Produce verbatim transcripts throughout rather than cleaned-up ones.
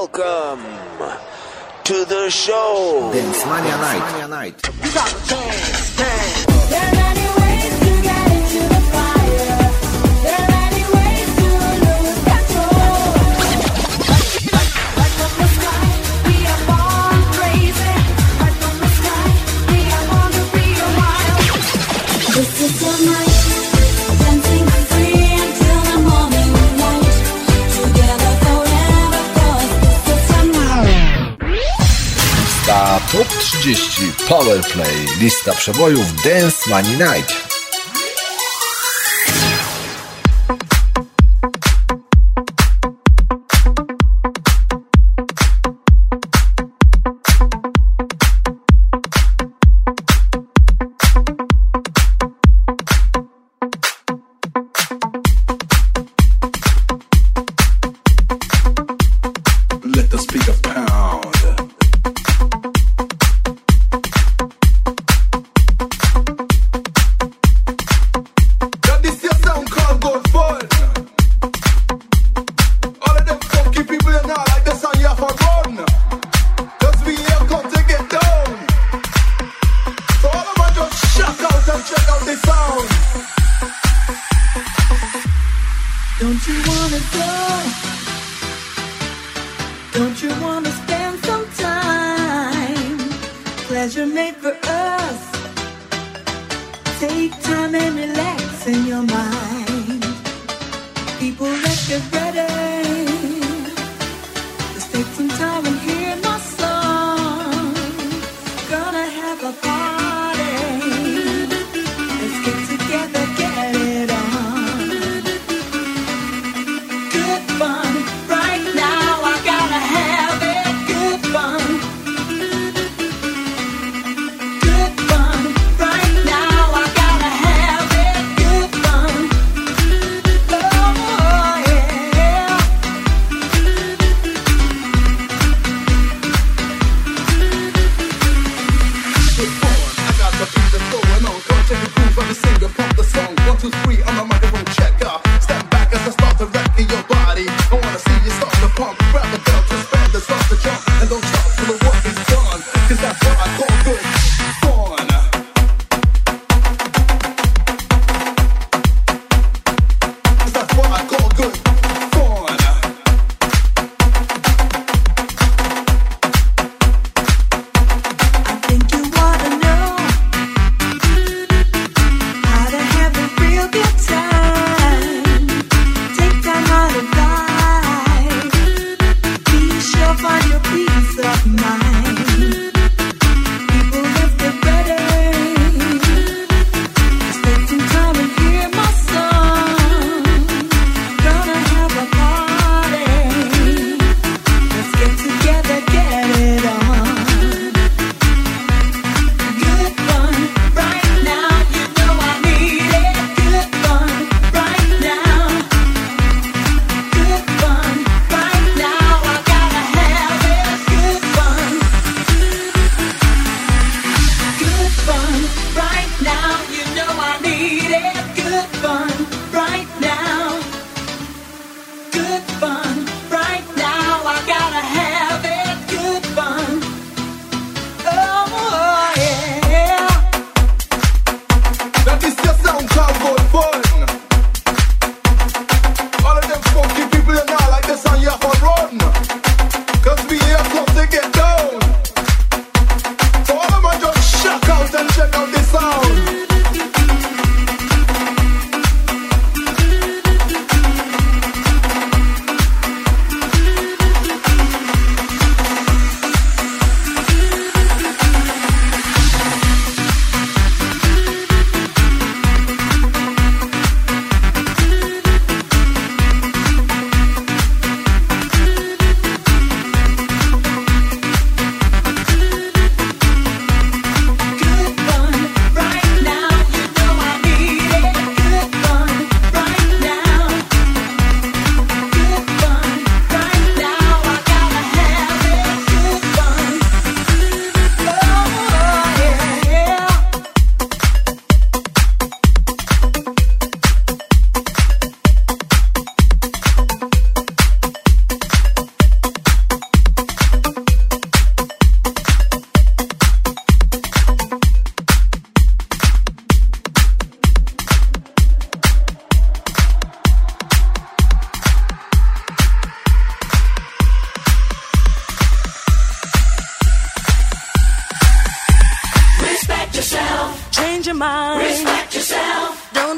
Welcome to the show. Dance Mania Night. Mania Night. You got the dance, dance. There are many ways to get into the fire. There are many ways to lose control. Like, like from the sky, we are born crazy. Like from the sky, we are born to be a wild. This is the night, dancing free until the morning light. Together forever, 'cause this is the night. Lista Top trzydzieści Powerplay. Lista przebojów Dance Mania Night. Let the speaker pound. Now this your sound called Good Fun. All of them funky people in now like the sound you have for run. Cause we here come to get down. So all of us just shock out and check out the sound. Don't you wanna go? Don't you wanna spend some time? Pleasure made for us. Take time and relax in your mind. People, let's get ready. Let's take some time and hear my song. Gonna have a party. Let's get together, get it on. Good fun. Right now I gotta have it. Good fun. Good fun. Right now I gotta have it. Good fun. Oh yeah.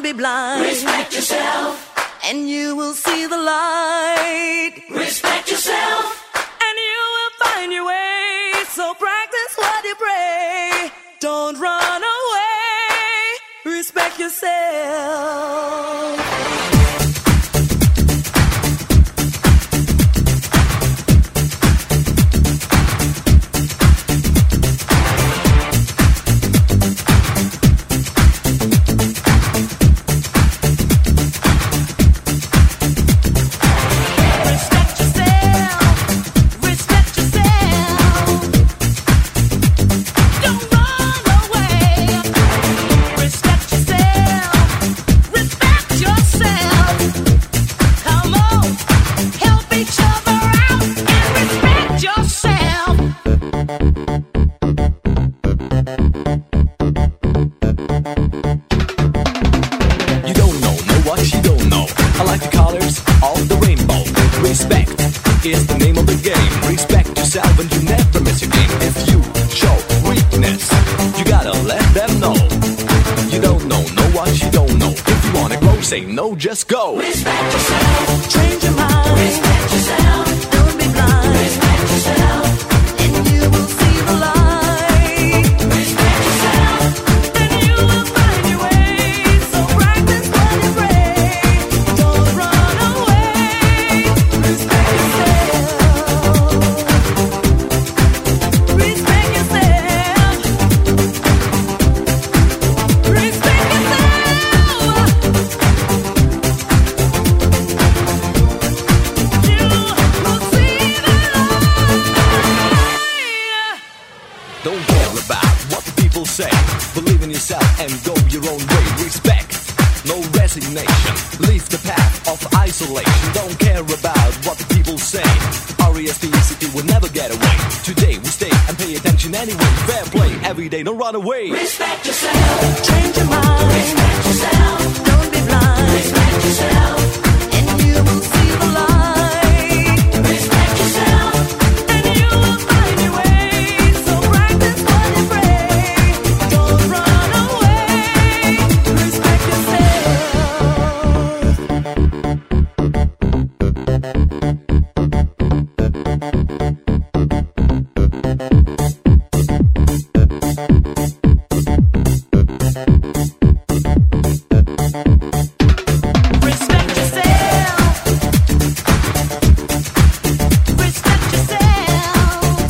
be blind. Respect yourself, and you will see the light. Respect yourself, and you will find your way. So practice what you pray. Don't run away. Respect yourself. Is the name of the game. Respect yourself and you never miss a game. If you show weakness, you gotta let them know. You don't know, know what you don't know. If you wanna grow, say no, just go. Respect yourself, change your mind. Respect yourself, don't be blind. Respect yourself, and you will see the light. Respect yourself, and you will find your way. So practice what you pray. Don't run away. Respect yourself. Respect yourself. Respect yourself. You will see the light. don't care about what the people say. Believe in yourself and go your own way. Respect, no resignation. Leave the path of isolation. Don't care about what the people say. R E S P E C T will never get away. Today we stay and pay attention anyway. Fair play every day, don't run away. Respect yourself, Change your mind. respect yourself, Don't be blind. respect yourself, And you will see the light. respect yourself. And you will find your way. So practice what you pray. Don't run away. Respect yourself. Respect yourself. Respect yourself.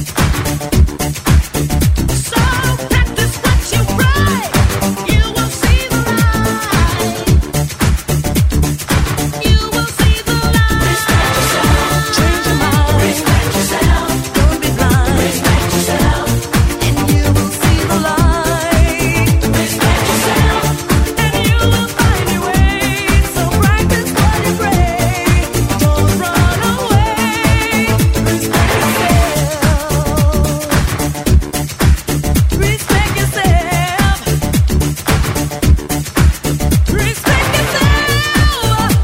So practice what you write. You will see the light. You will see the light. Respect yourself. Change your mind. Respect yourself, Don't be blind. respect yourself, And you will see the light. respect yourself, And you will find your way. So practice what you pray. Don't run away. Respect yourself. Respect yourself. Respect yourself.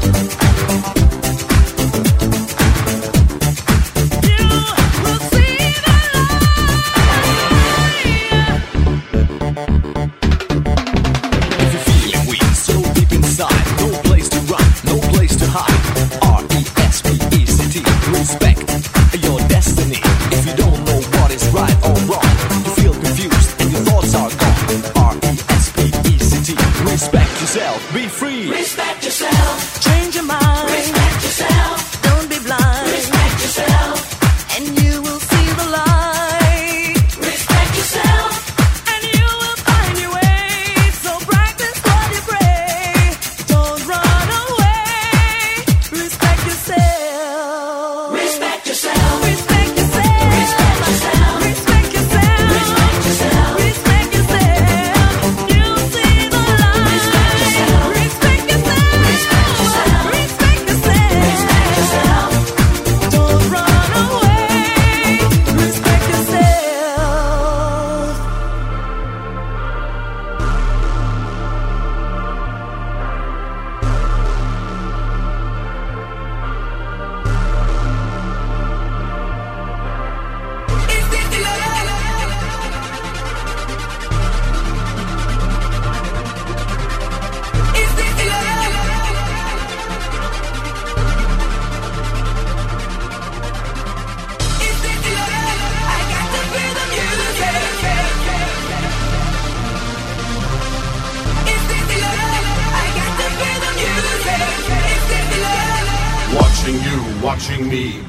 You will see the light. If you're feeling weak, so deep inside, no place to run, no place to hide. R E S P E C T, respect your destiny. If you don't know what is right or wrong, you feel confused and your thoughts are gone. R E S P E C T, respect yourself, be free. Respect yourself, Change your mind. respect yourself, Don't be blind. respect yourself, And you will see the light. respect yourself, And you will find your way. So practice what you pray. Don't run away. Respect yourself. respect yourself, Respect yourself. respect yourself, Respect yourself. respect yourself, Respect yourself. You'll see the light. Respect yourself. Respect yourself. Respect yourself. Respect yourself. watching me.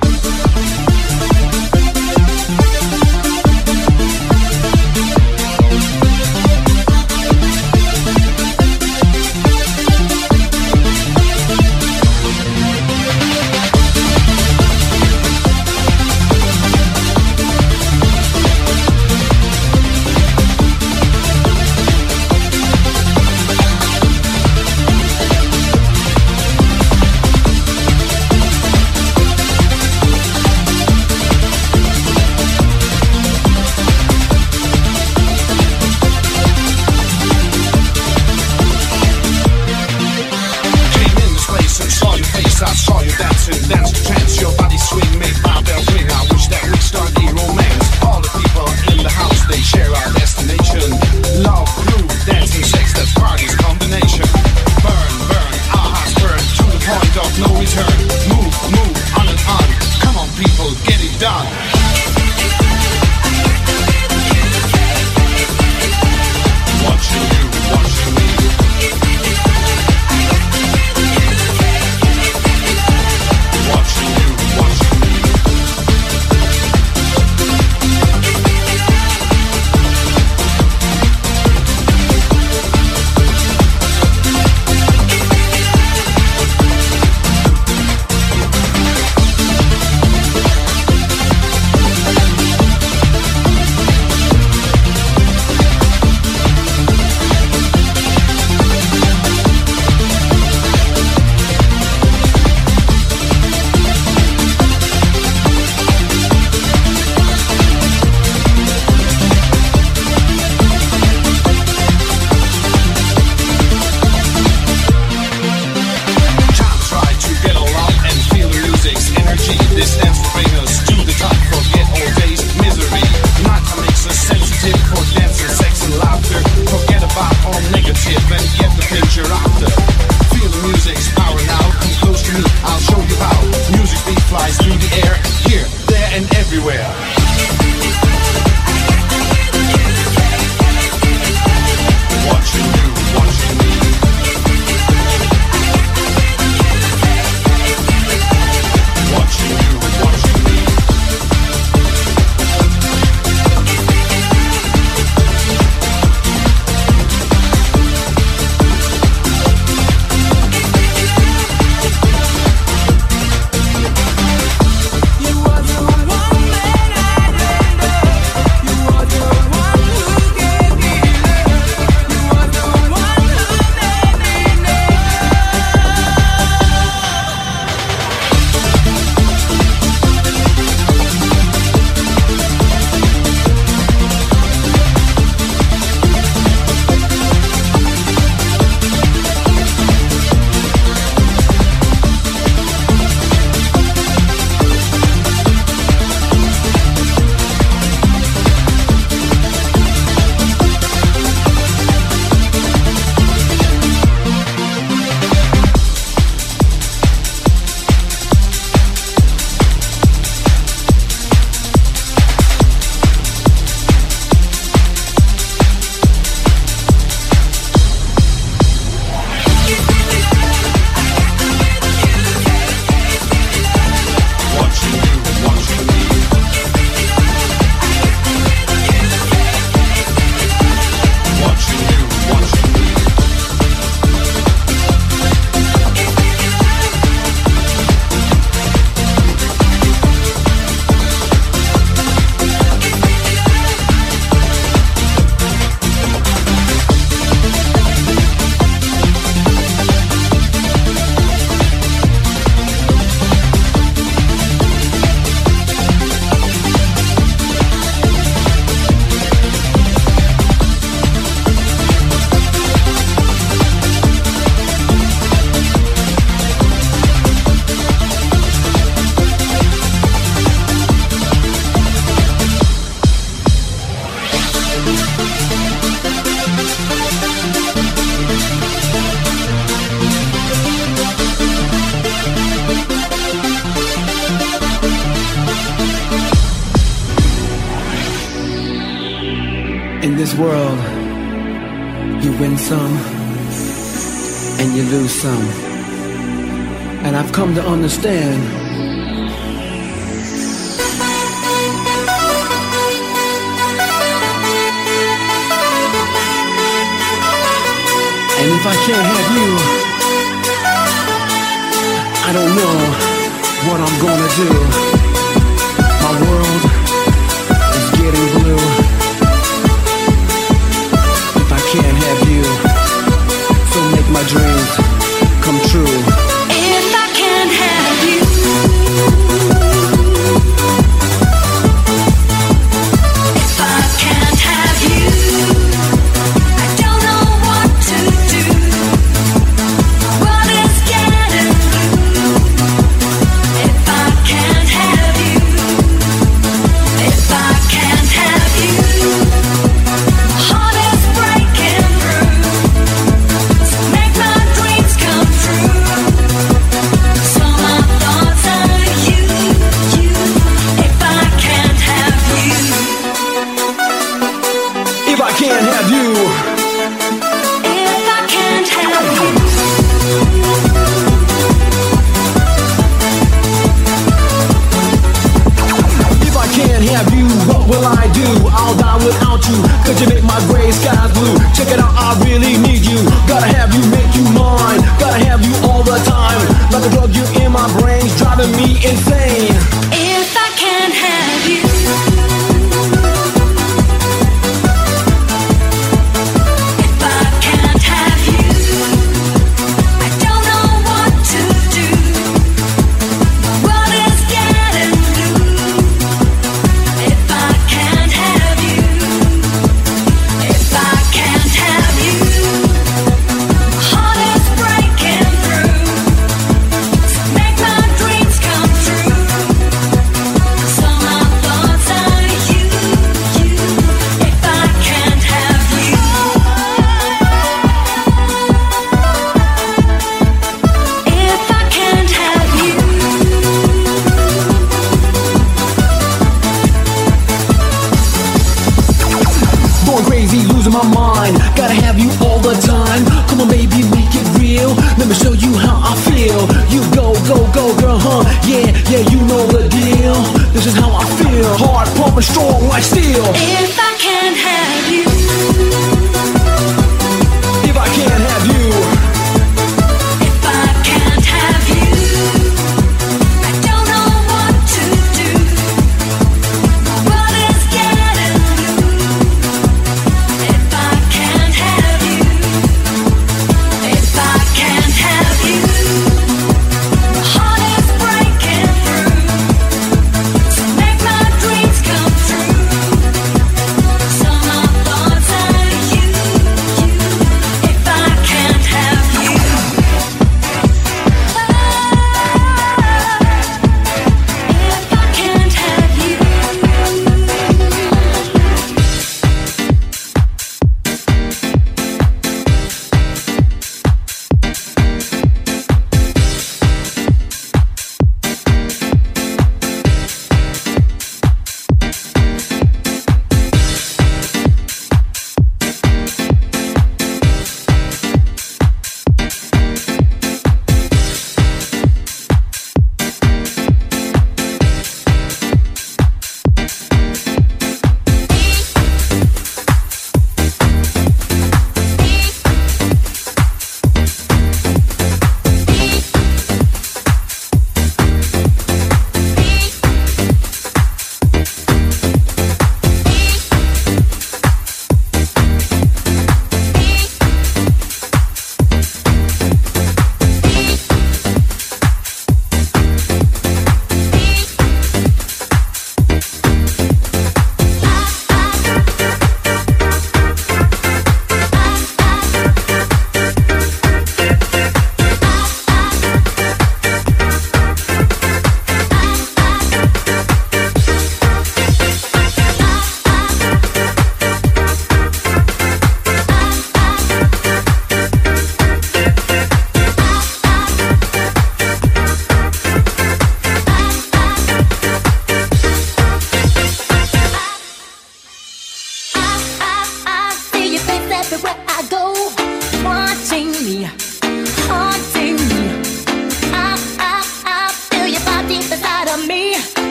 In this world, you win some and you lose some. And I've come to understand If I can't have you, I don't know what I'm gonna do. My world is getting blue. If I can't have you, so make my dreams come true. If I can't have you, if I can't have you, I don't know what to do. What is getting blue? If I can't have you, if I can't have you, my heart is breaking through. So make my dreams come true. So my thoughts are you, you. If I can't have you, If I can't have you, if I can't have you. if I can't have you, what will I do? I'll die without you, cause you make my gray skies blue. Check it out, I really need you. Gotta have you, make you mine. Gotta have you all the time. Like a drug, you in my brains, driving me insane. If I can't have you, if I can't have you, I don't know what to do. What is getting blue? If I can't have you, if I can't have you, my heart is breaking through. So make my dreams come true. So my thoughts are you, you. If I can't have you, if I can't have you. Going crazy, losing my mind. Gotta have you all the time. Come on, baby, make it real. Let me show you how I feel. You go, go, go, girl, huh? Yeah, yeah, you know the deal. This is how I feel. Hard, pumping, strong like steel. If I can't have you, If I can't have you, if I can't have you, I don't know what to do. What is getting blue? If I can't have you, if I can't have you, my heart is breaking through. So make my dreams come true. So my thoughts are you, you. If I can't have you, if I can't have you.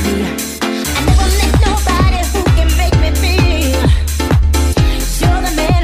You're the man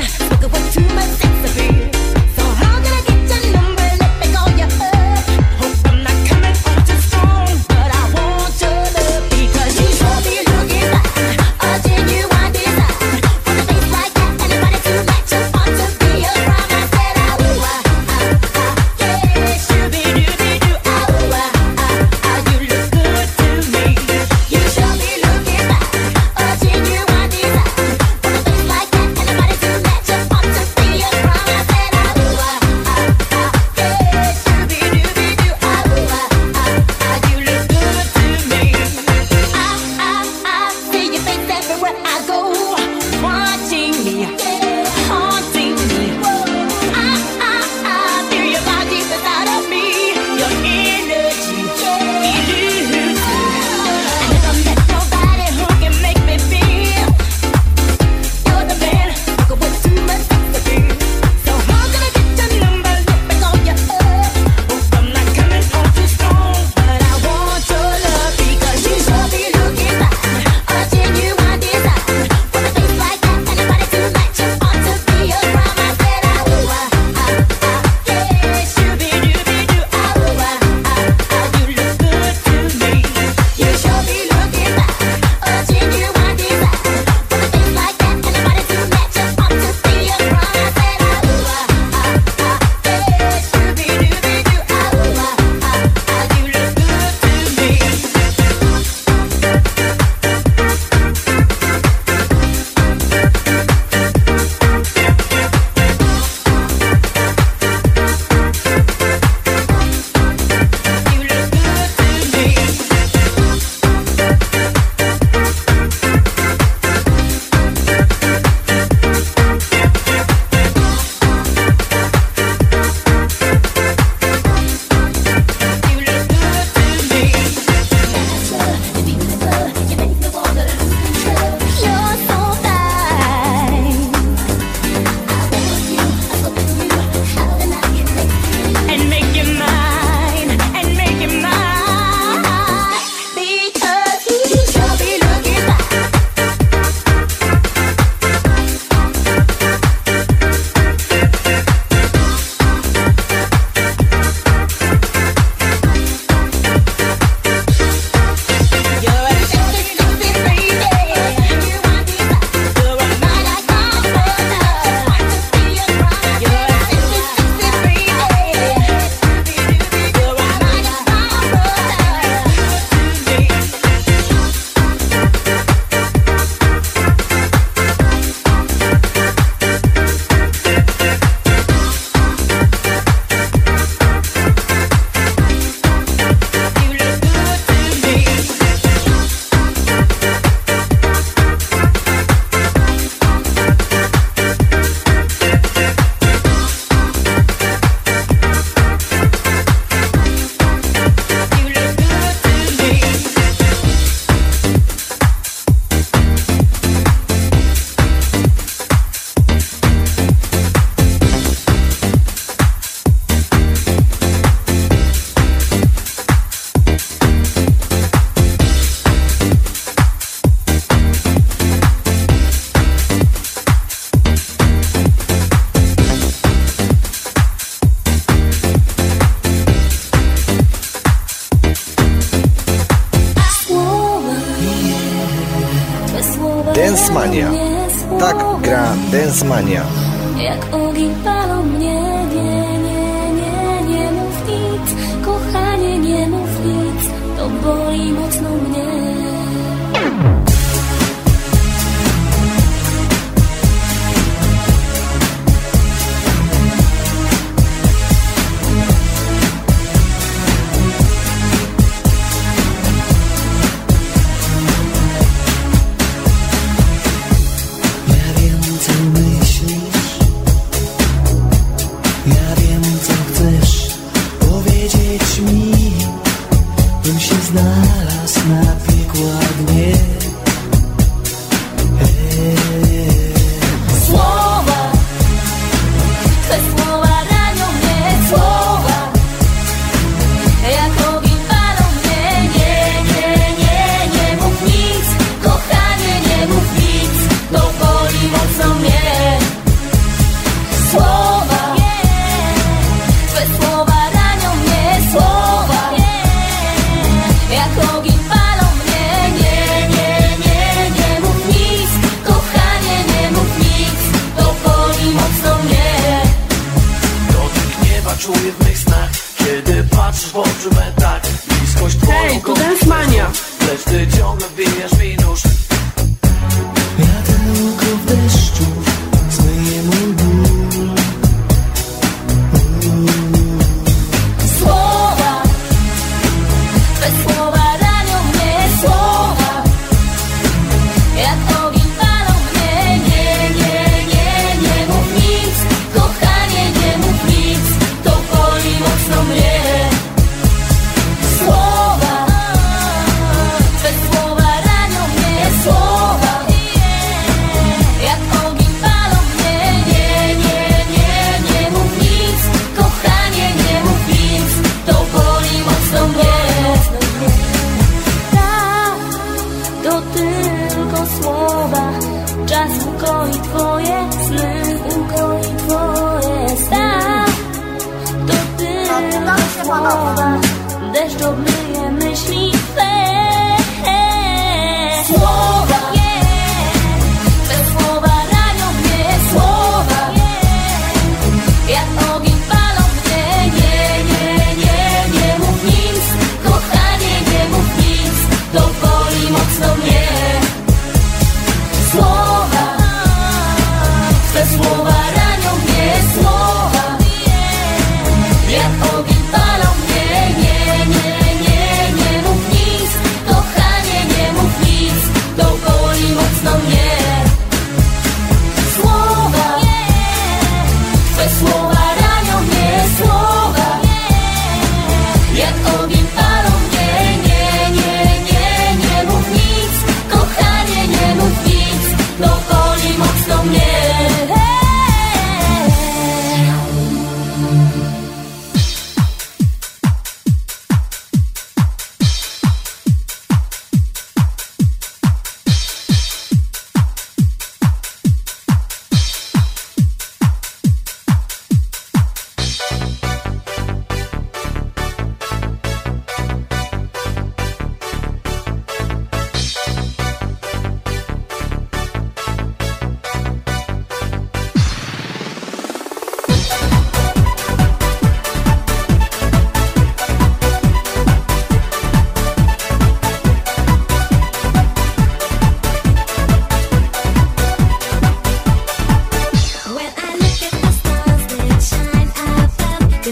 Mania. Tak gra Dance Mania. Jak ogień palą mnie, nie, nie, nie, nie mów nic, kochanie, nie mów nic, to boli mocno mnie. Znalazł na piekła dnie. Słowa, te słowa ranią mnie, słowa, jak ogień palą mnie. Nie, nie, nie, nie mów nic, kochanie, nie mów nic, to boli mocno mnie. Słowa, twe słowa ranią mnie, słowa, jak ogień palą mnie. Nie, nie, nie, nie mów nic, kochanie, nie mów nic, to boli mocno mnie. Dotyk nieba czuję w mych snach, kiedy patrzysz w oczy me tak. Bliskość twoją Hej, tu Dance Mania. lecz ty ciągle wbijasz mi nóż. Wiadełko w deszczu zmyje mój ból. Słowa, twe słowa ranią mnie, słowa, jak ogień palą mnie. Nie, nie, nie, nie mów nic, kochanie, nie mów nic, to boli mocno mnie. Słowa, twe słowa ranią mnie, słowa, jak ogień palą mnie. Nie, nie, nie, nie mów nic, kochanie, nie mów nic, to boli mocno mnie. Tak, to tylko słowa, czas ukoi twoje sny, ukoi twoje sny. To tylko słowa, deszcz obmyje myśli twe. Słowa, te słowa ranią mnie, słowa, jak ogień palą mnie. Nie, nie, nie, nie mów nic, kochanie, nie mów nic, to boli mocno mnie. Słowa, te słowa ranią mnie, słowa, jak ogień palą mnie. Nie, nie, nie, nie mów nic, kochanie, nie mów nic, to boli mocno mnie. Słowa, twe słowa ranią mnie, słowa, jak ogień palą mnie. Nie, nie, nie, nie mów nic, kochanie, nie mów nic, to boli mocno mnie. When I look at the stars that shine above,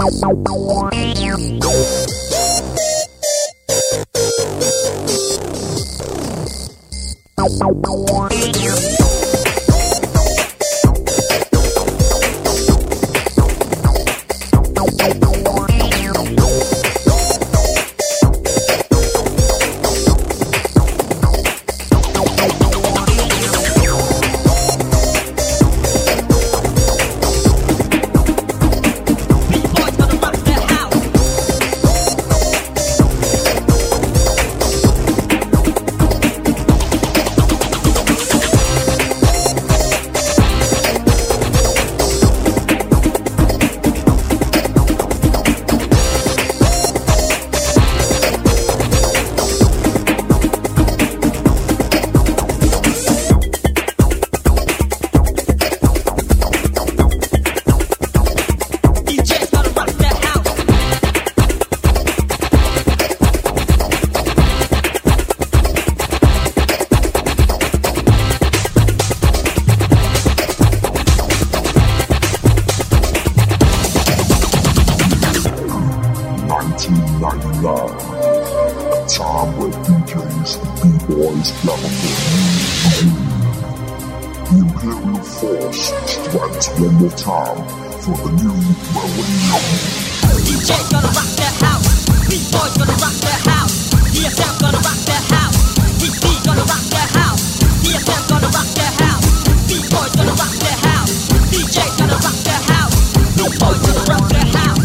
nineteen ninety-nine, a time where D Js and B-boys gather for you. The Imperial Force strikes one more time for the new millennium. D J's gonna rock that house, B-boys gonna rock that house, D S M gonna rock that house, D C gonna rock that house, D S M gonna rock that house, B-boys gonna rock that house, D J's gonna rock that house, B-boys gonna rock that house.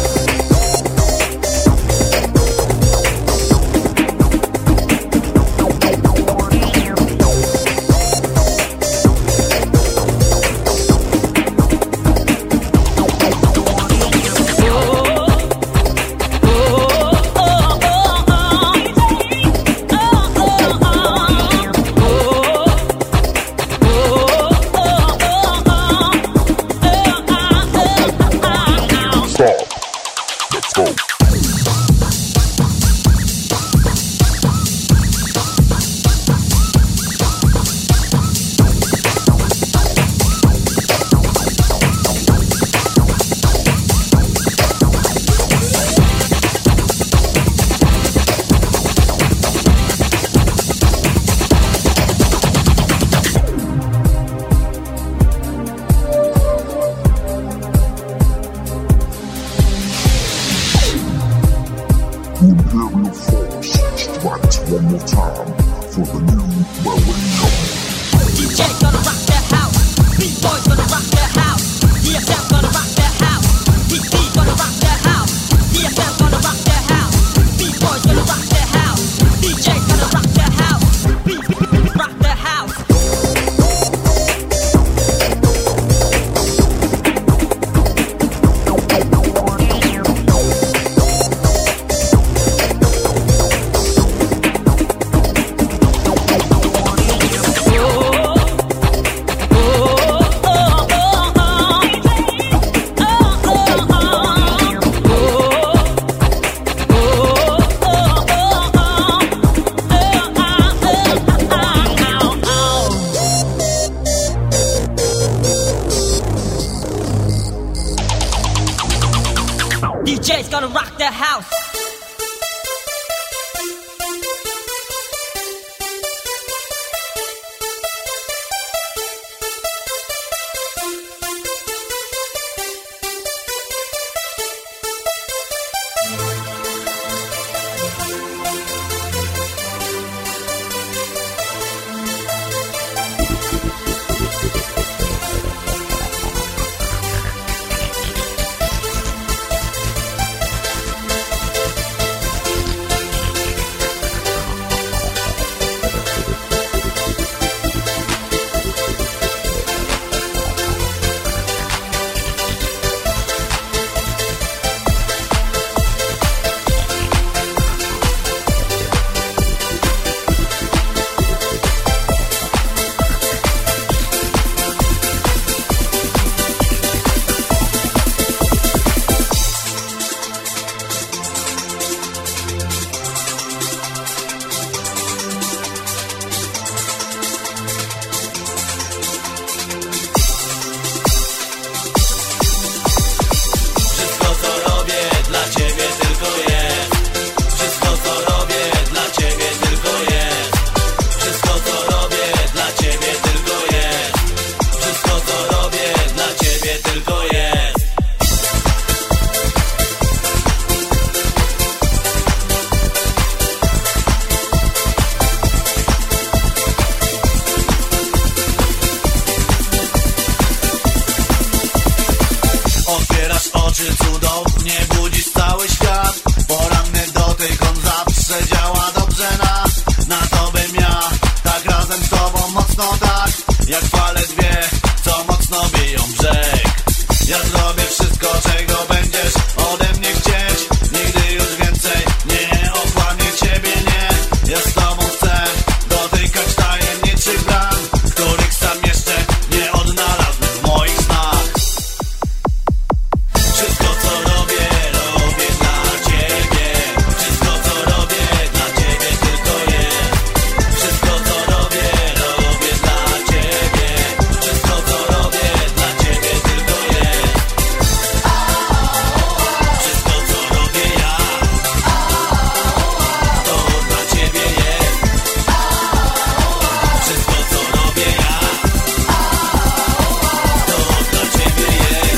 D J's gonna rock the house. Otwierasz oczy, cudownie budzisz cały świat. Poranny dotyk, on zawsze działa dobrze na Na to bym ja, tak razem z tobą mocno tak jak fale dwie, co mocno biją brzeg. Ja zrobię wszystko, czego będziesz ode mnie chcieć. Nigdy już więcej nie okłamię ciebie, nie. Ja z tobą chcę dotykać tajemniczych bram, których sam jeszcze nie odnalazłem w moich snach. Wszystko co robię, robię dla ciebie. Wszystko co robię, dla ciebie tylko jest. Wszystko co robię, robię dla ciebie. Wszystko co robię, dla ciebie tylko jest. Wszystko co robię ja, to dla ciebie jest. Wszystko co robię ja, to dla ciebie jest.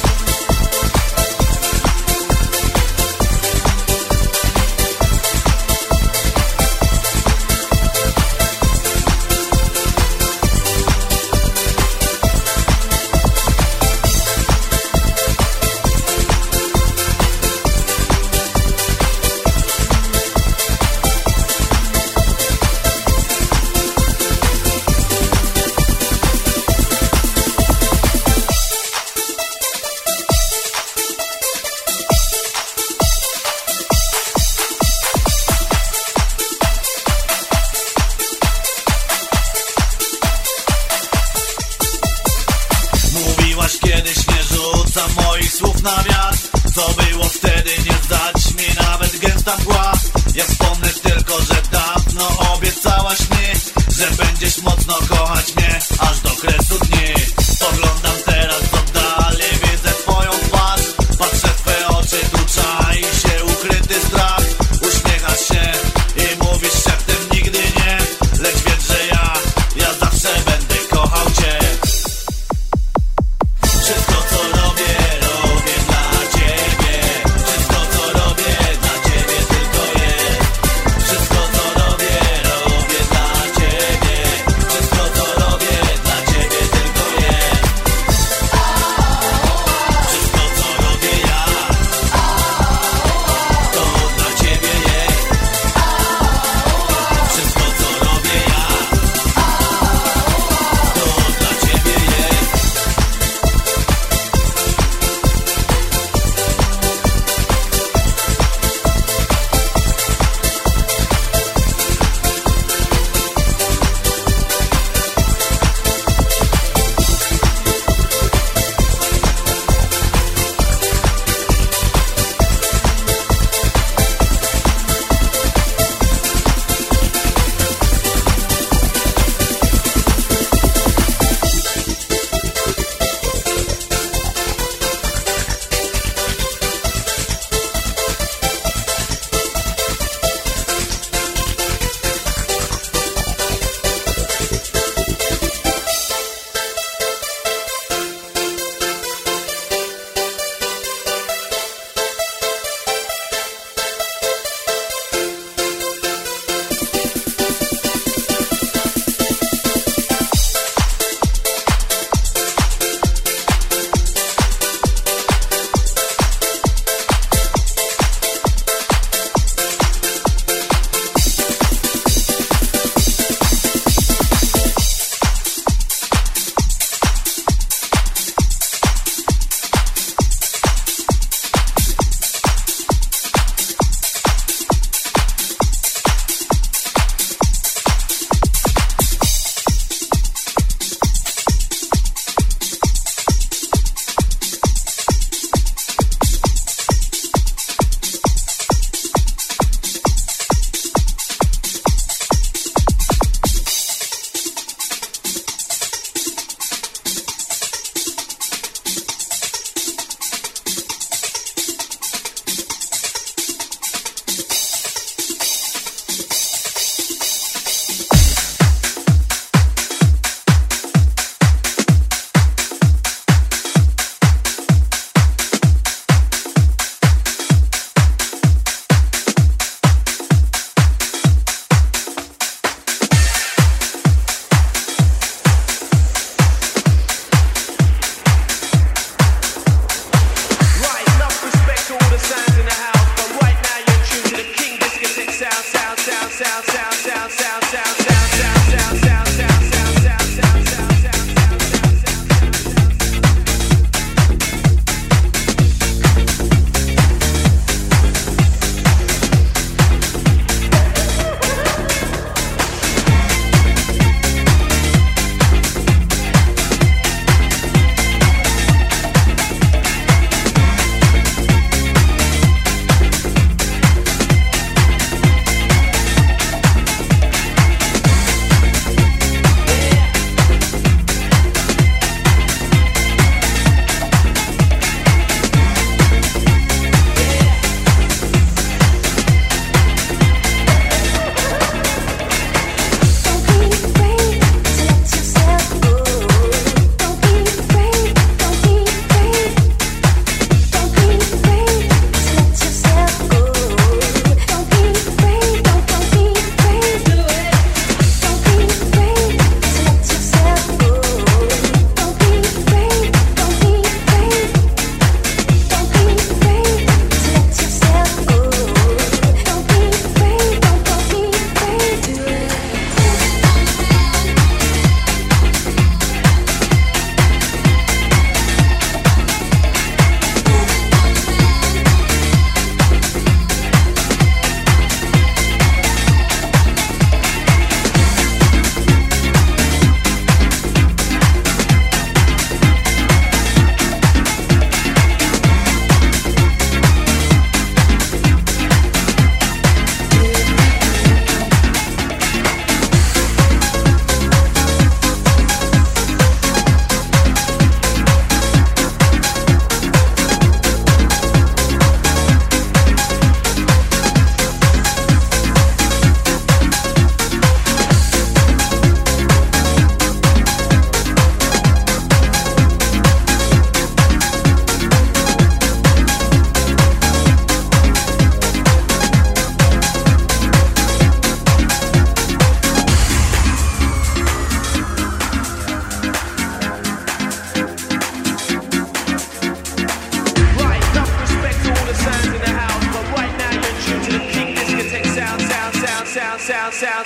Mówiłaś kiedyś, nie rzucam moich słów na wiatr. Co było wtedy, nie zdać mi nawet gęsta mgła. Ja wspomnę tylko, że dawno obiecałaś mi, że będziesz mocno kochać mnie aż do kresu dni. Spoglądam teraz w oddali, widzę twoją twarz. Patrzę w twoje oczy, tu czai się ukryty strach. Uśmiechasz się i mówisz szeptem nigdy nie. Lecz wiedz, że ja, ja zawsze będę kochał cię. Wszystko co robię, robię dla ciebie. Wszystko co robię, dla ciebie tylko jest. Wszystko co robię, robię dla ciebie. Wszystko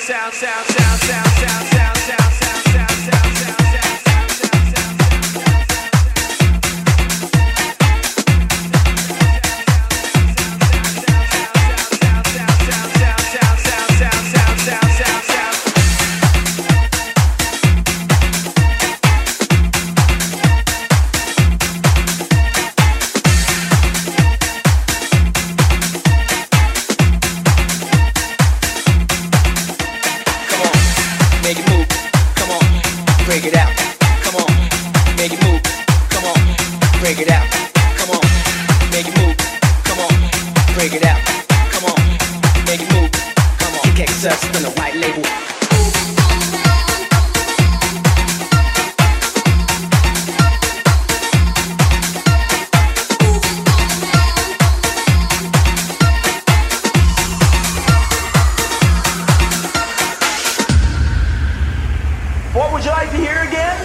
sound, sound, sound, sound, sound, sound, sound, sound, sound, sound, sound, sound. Break it out, come on, make it move, come on, break it out, come on, make it move, come on, break it out, come on, make it move, come on, kick us in the white label. What would you like to hear again?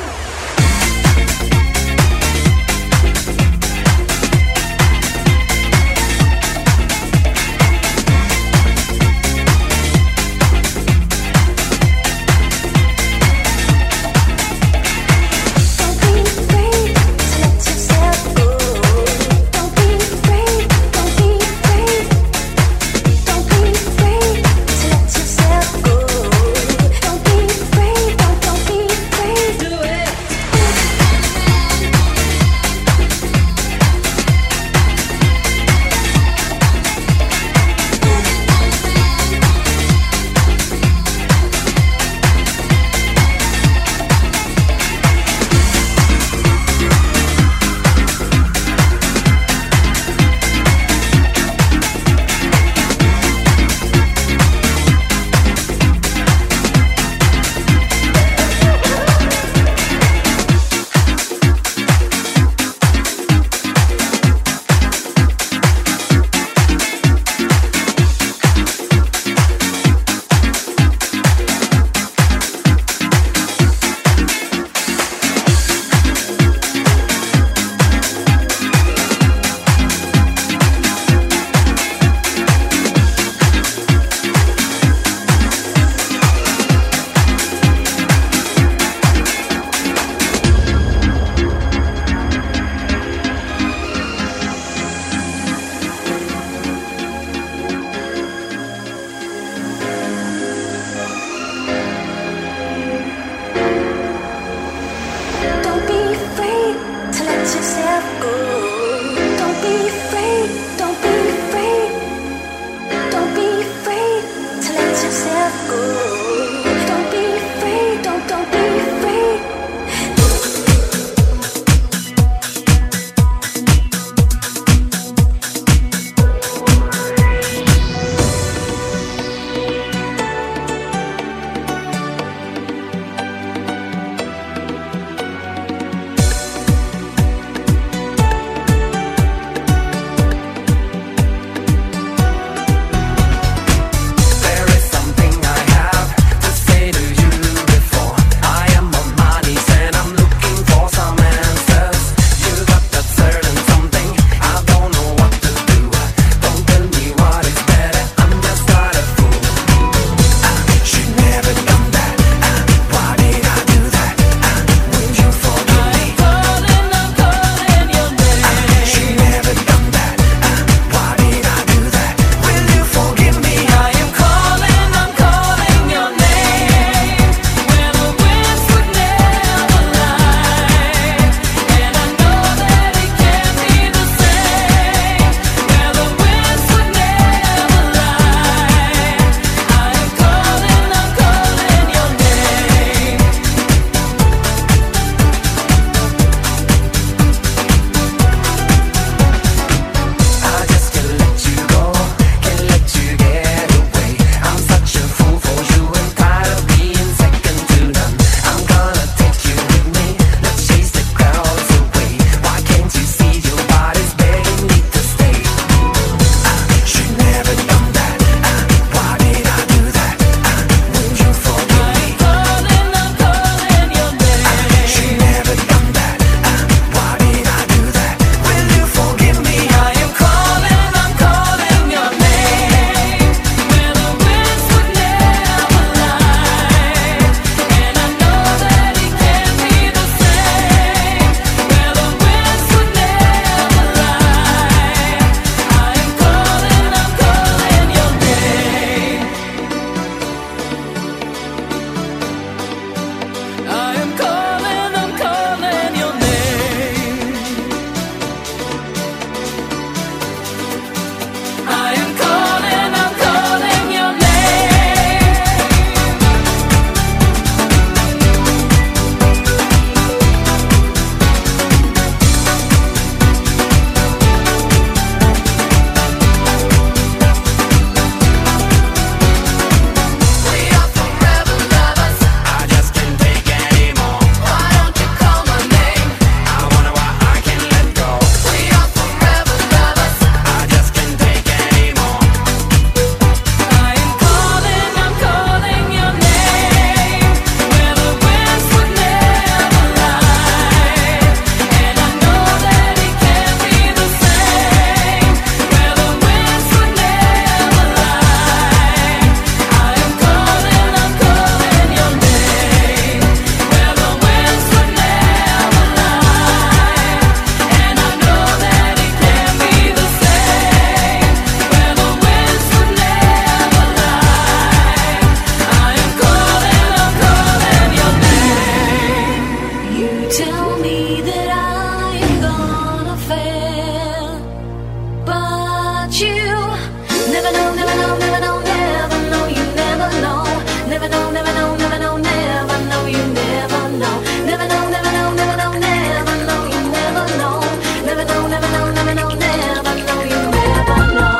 you. Never know, never know, never know, never know, you never know. Never know, never know, never know, never know, you never know. Never know, never know, never know, never know, you never know. Never know, never know, never know, never know, you never know.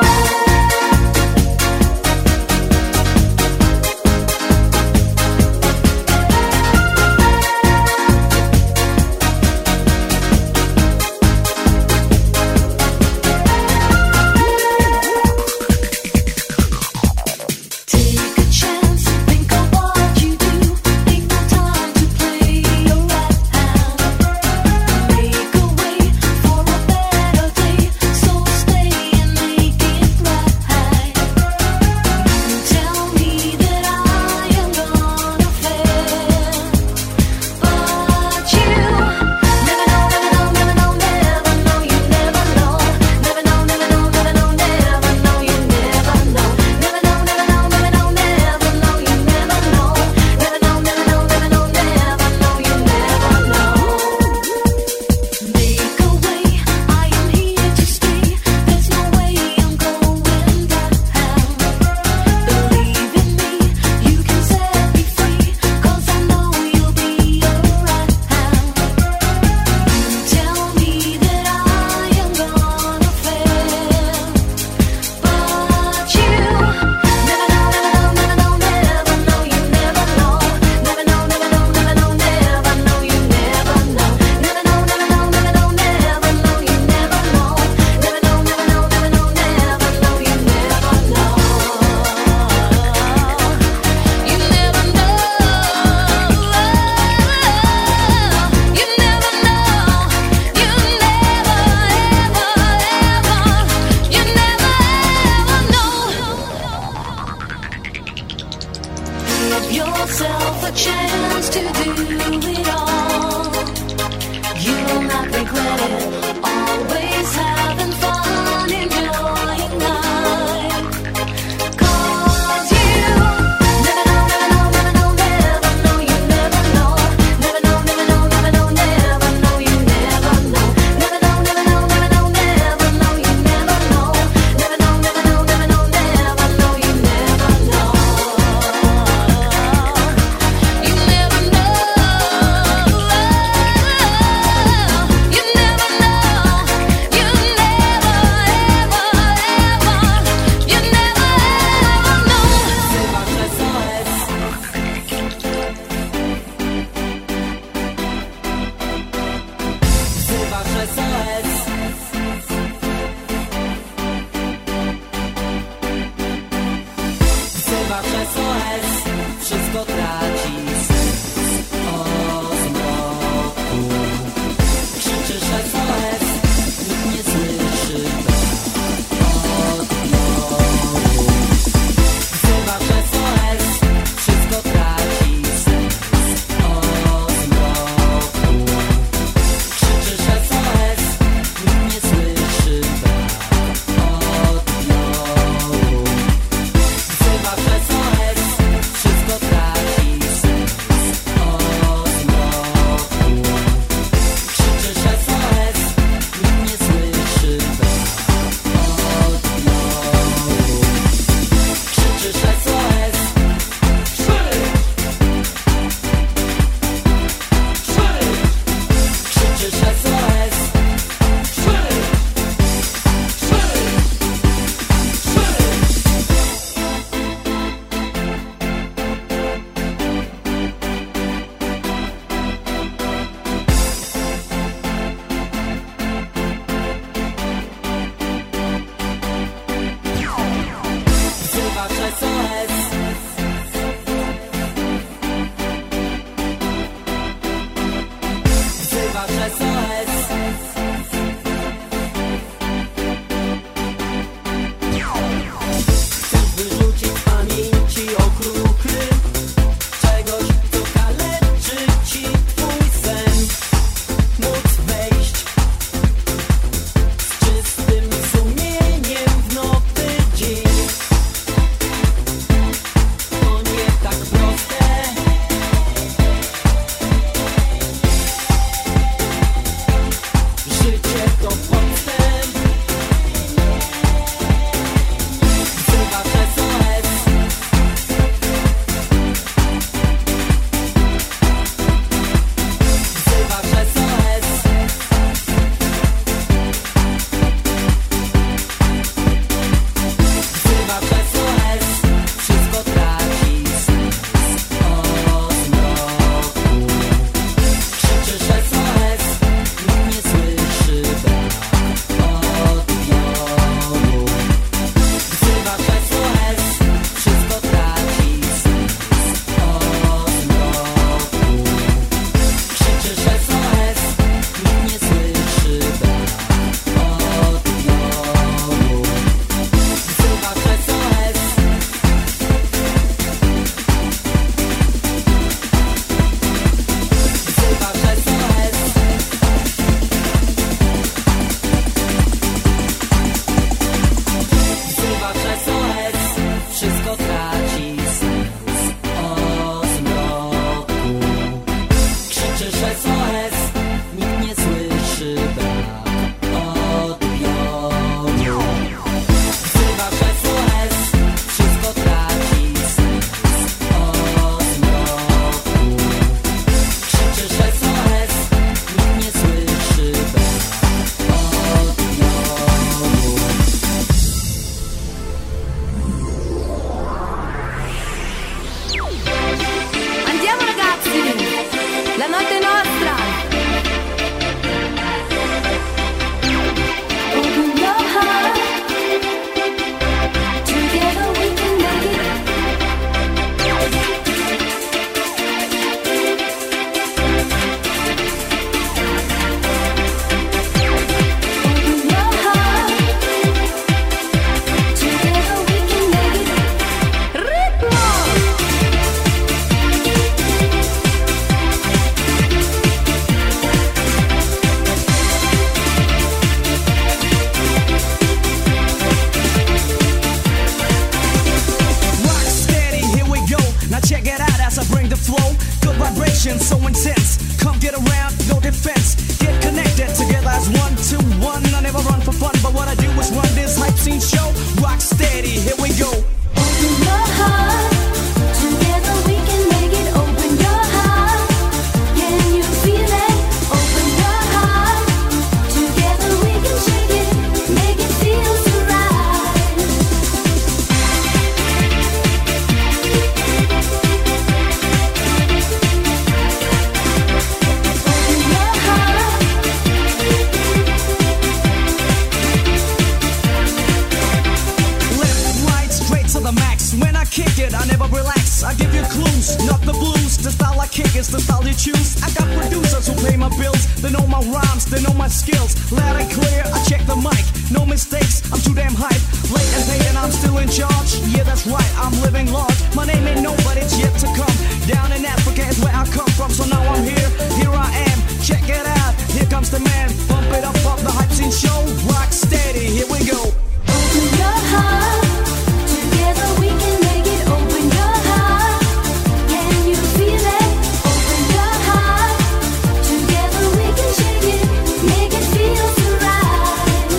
I give you clues, not the blues. The style I kick is the style you choose. I got producers who pay my bills. They know my rhymes, they know my skills. Loud and clear, I check the mic. No mistakes, I'm too damn hype. Late and paid and I'm still in charge. Yeah, that's right, I'm living large. My name ain't no, but it's yet to come. Down in Africa is where I come from. So now I'm here, here I am. Check it out, here comes the man. Bump it up, up the hype scene show. Rock steady, here we go. Open your heart, together we can make it. Open your heart, can you feel it? Open your heart, together we can shake it, make it feel so right.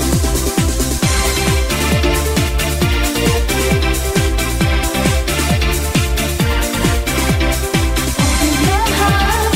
Open your heart.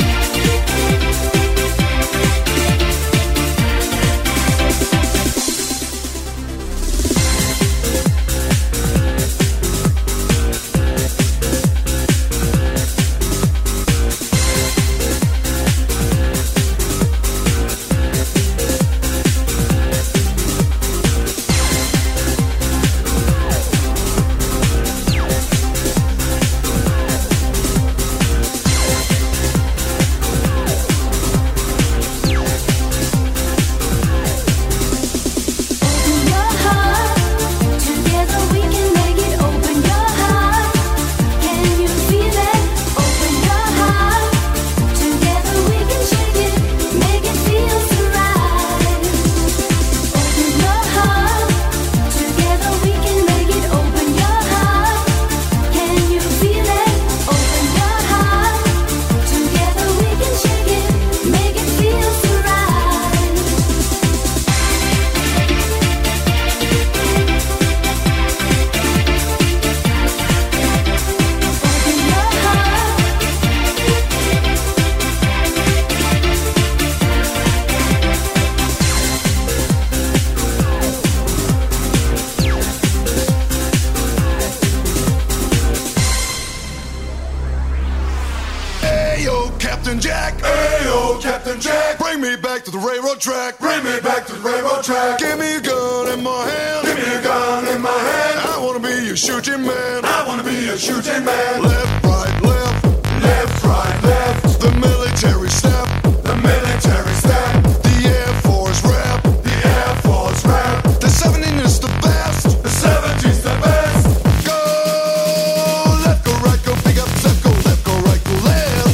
Captain Jack. Ayo, Captain Jack. Bring me back to the railroad track. Bring me back to the railroad track. Give me a gun in my hand. Give me a gun in my hand. I wanna be a shooting man. I wanna be a shooting man. Left, right, left. Left, right, left. The military step. The military step. The Air Force rap. The Air Force rap. The seventeen is the best. The seventeen's the best. Go left, go right, go big up, step, go left, go right, go left.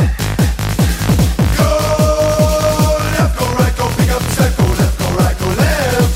Go left, go right, go big up, step, go left, go right, go left.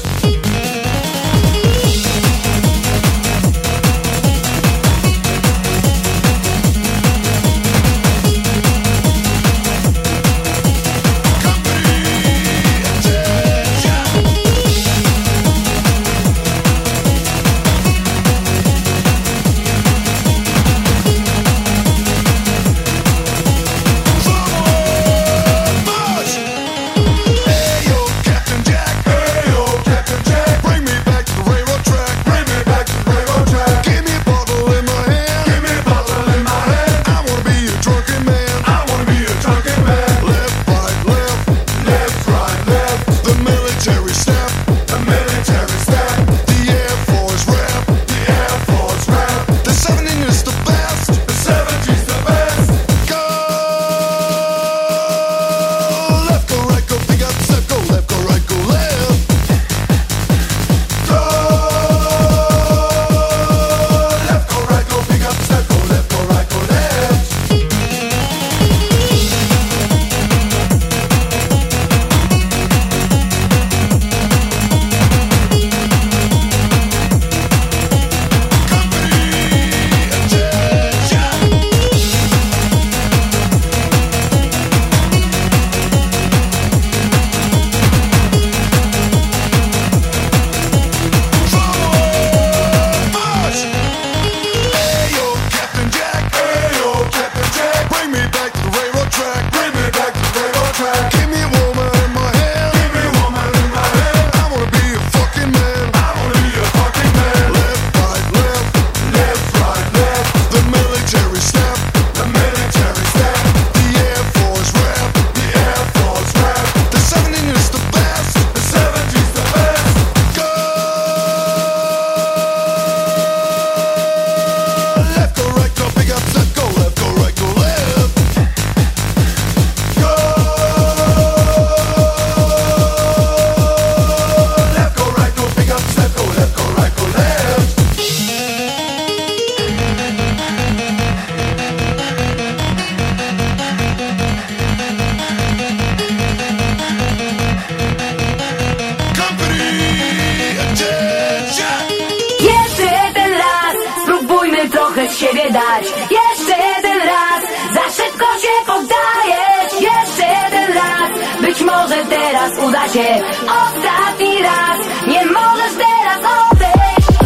siebie dać. Jeszcze jeden raz, za szybko się poddajesz. Jeszcze jeden raz, być może teraz uda się. Ostatni raz, nie możesz teraz odejść.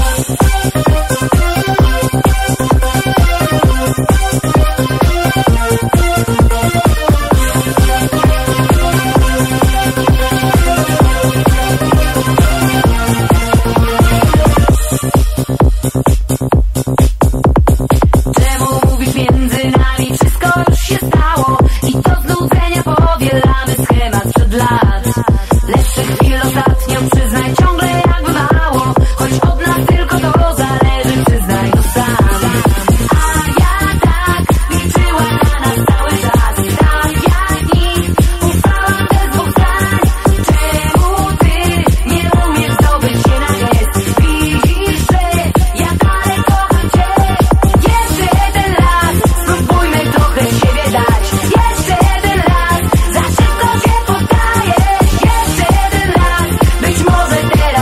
Czemu mówisz między nami, wszystko już się stało i to znudzenia powielamy schemat przed lat. Lepszych chwil ostatnio przyznaj, ciągle jakby mało, choć od nas tylko to zależy, przyznaj to sam. A ja tak liczyłam na nas cały czas, tak jak nikt ufałam bez dwóch zdań. Czemu ty nie umiesz zdobyć się na gest? Widzisz, że ja dalej kocham cię. Jeszcze jeden raz, spróbujmy trochę siebie dać. Jeszcze jeden raz, za szybko się poddajesz. Jeszcze jeden raz, być może teraz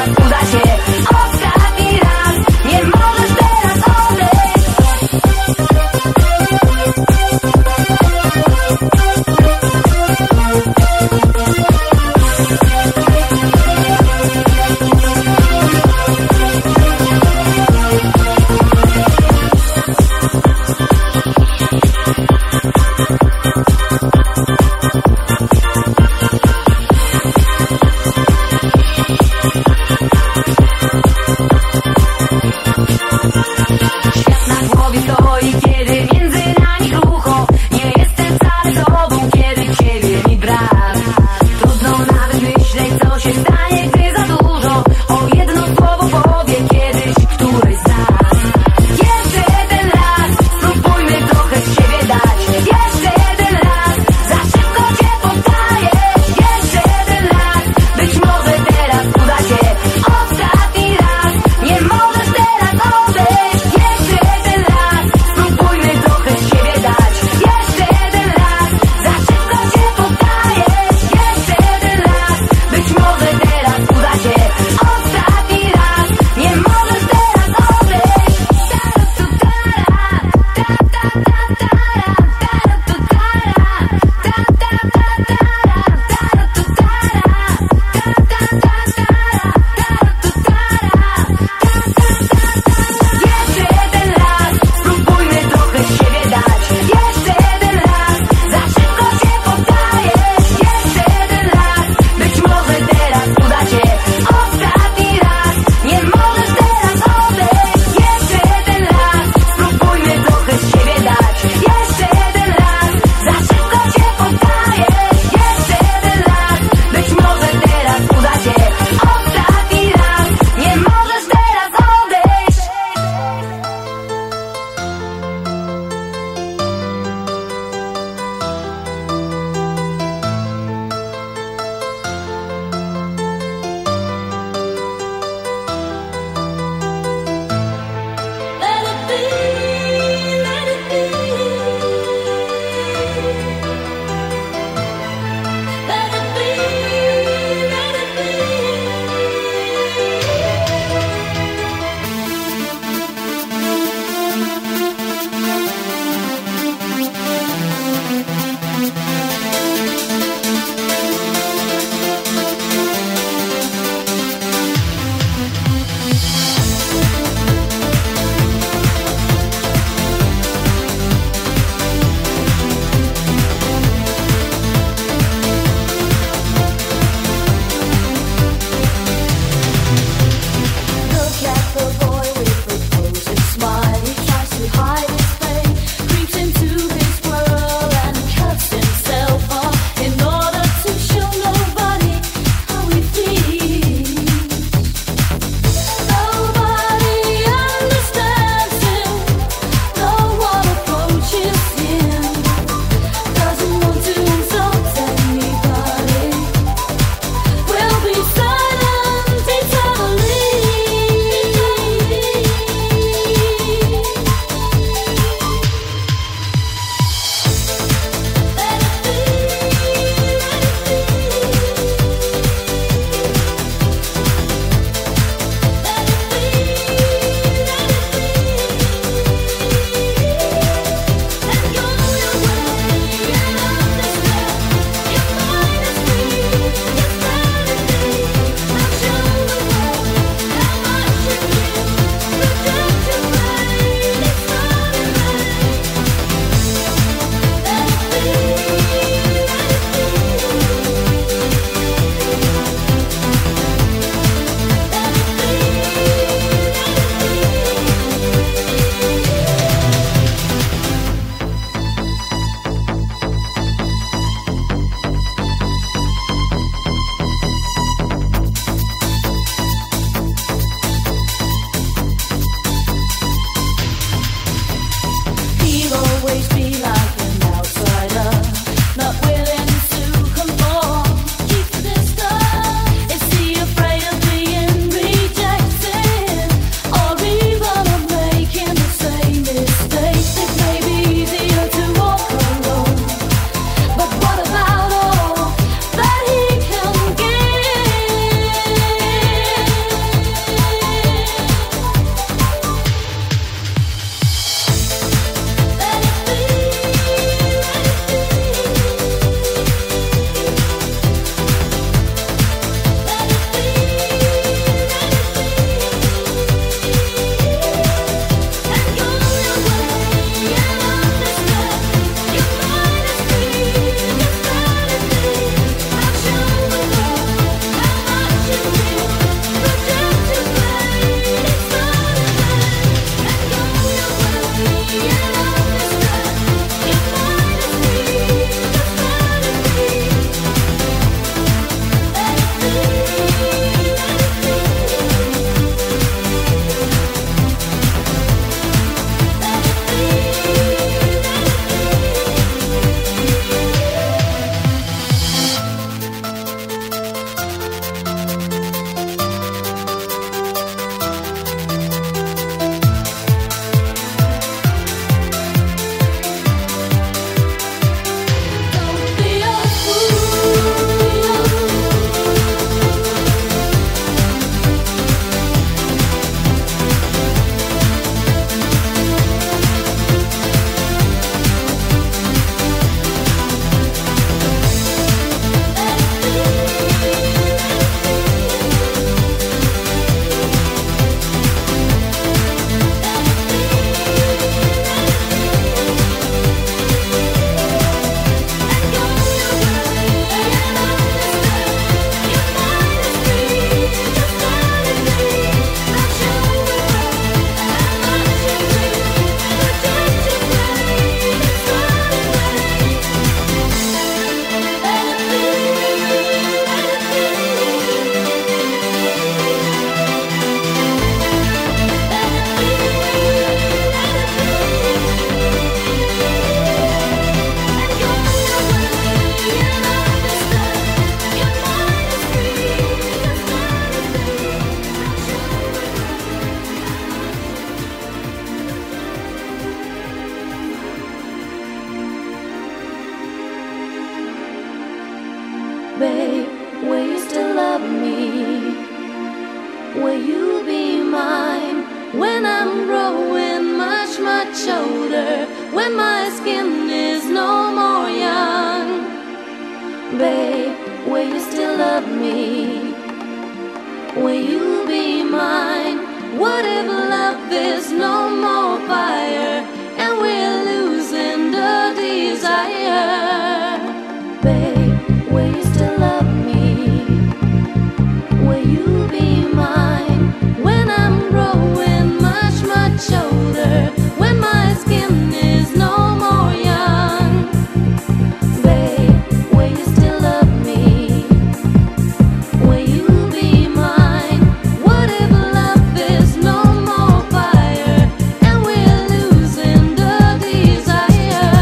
will you be mine? When I'm growing much, much older, when my skin is no more young, babe, will you still love me? Will you be mine? What if love is no more fire and we're losing the desire? Babe, will you still love me? Will you be mine? When I'm growing much, much older, when my skin is no more young, babe, will you still love me? Will you be mine? What if love is no more fire and we're losing the desire?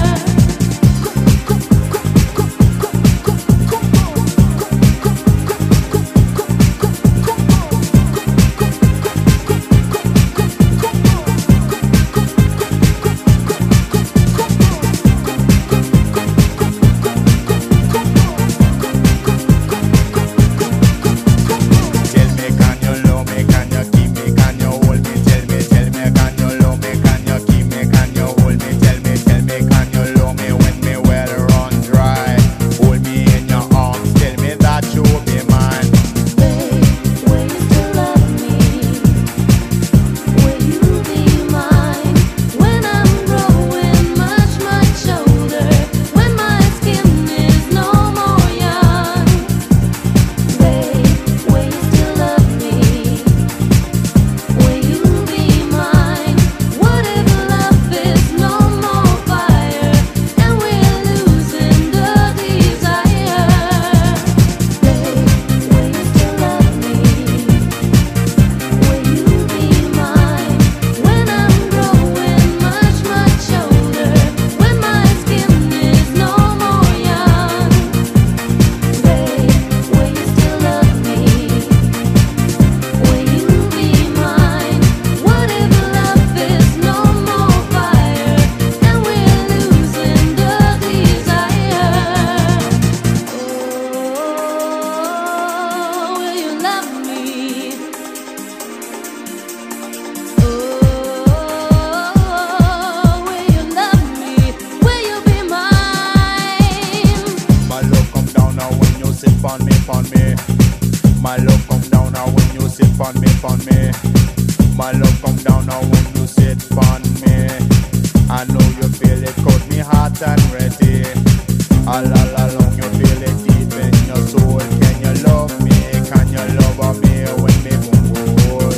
Tell me, can you love me? Can you keep me? Can you hold me? Tell me, tell me, can you love me? Can you keep me? Can you hold me? Tell me, tell me, can you love me when me well run dry? Hold me in your arms. Tell me that you will be mine. Babe, will you still love me? Will you be mine? When I'm growing much, much older, when my skin is no more young, babe, will you still love me? Will you be mine? What if love is no more fire and we're losing the desire? Babe, will you still love me? Will you be mine? When I'm growing much, much older, when my skin is no more young, babe, will you still love me? Will you be mine? What if love is no more fire and we're losing the desire? Oh, will you love me? Oh, will you love me? Will you be mine? My love come down now when you sit on me, on me. My love come down now when you sit on me, on me. My love come down now when you sit on me. I know you feel it, cause me hot and ready. All, all along you feel it deep in your soul. Can you love me? Can you love me when me boom boom?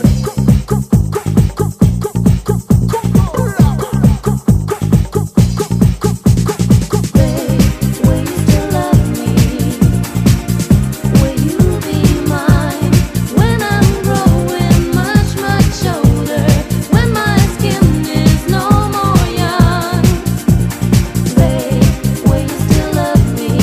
Babe, will you still love me? Will you be mine? When I'm growing much, much older, when my skin is no more young, babe, will you still love me?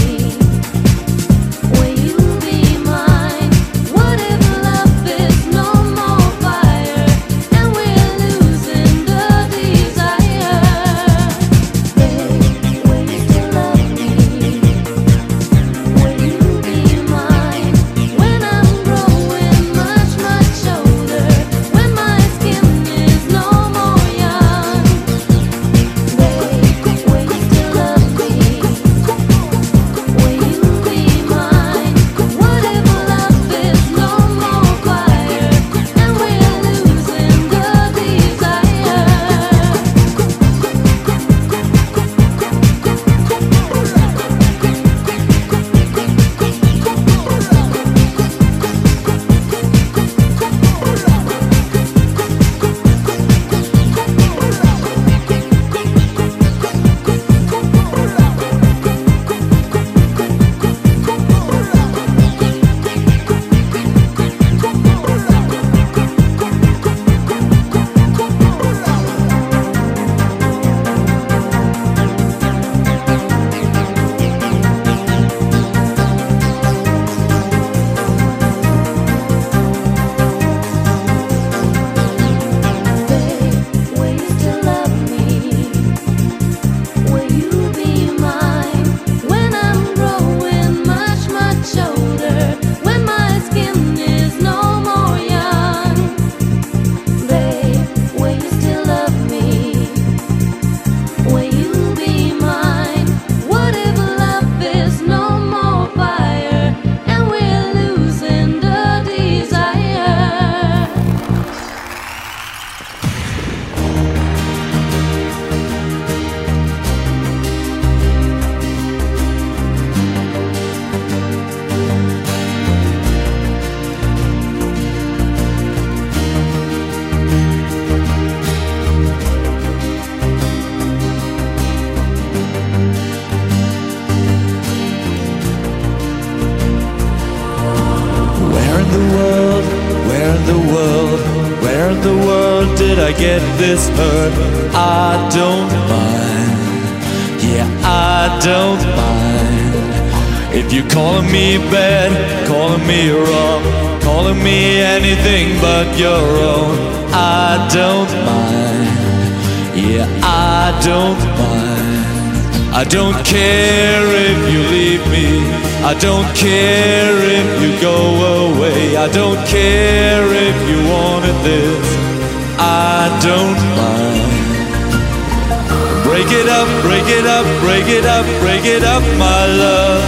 world did I get this hurt? I don't mind. Yeah, I don't mind. If you're calling me bad, calling me wrong, calling me anything but your own, I don't mind. Yeah, I don't mind. I don't care if you leave me, I don't care if you go away, I don't care if you wanted this, I don't mind. Break it up, break it up, break it up, break it up, my love.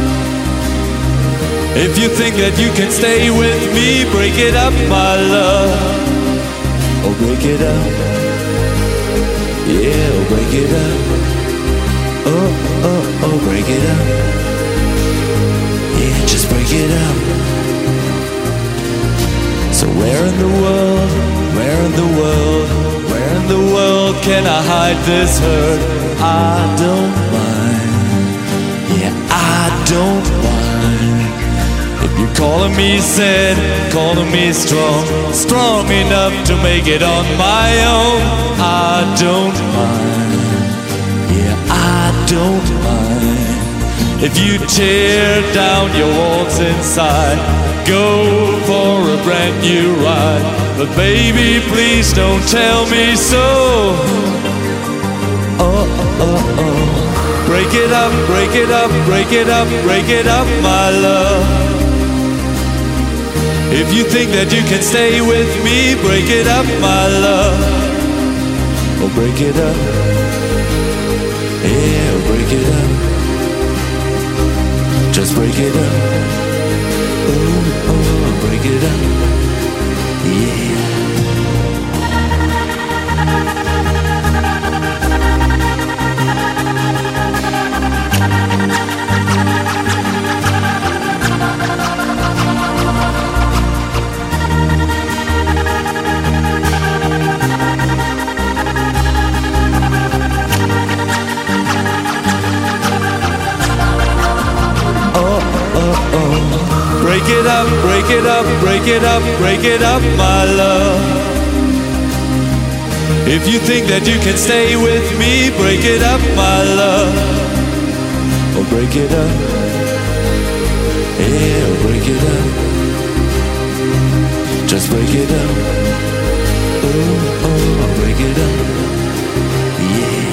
If you think that you can stay with me, break it up, my love. Oh, break it up. Yeah, oh, break it up. Oh, oh, oh, break it up. Yeah, just break it up. So where in the world, where in the world, where in the world can I hide this hurt? I don't mind. Yeah, I don't mind. If you're calling me sad, calling me strong, strong enough to make it on my own, I don't mind. Yeah, I don't mind. If you tear down your walls inside, go for a brand new ride. But baby, please don't tell me so. Oh, oh, oh. Break it up, break it up, break it up, break it up, my love. If you think that you can stay with me, break it up, my love. Oh, break it up. Yeah, break it up. Just break it up. Oh, oh, break it up. Yeah. Break it up, break it up, break it up, break it up, my love. If you think that you can stay with me, break it up, my love. Oh, break it up. Yeah, break it up. Just break it up. Oh, oh, break it up. Yeah.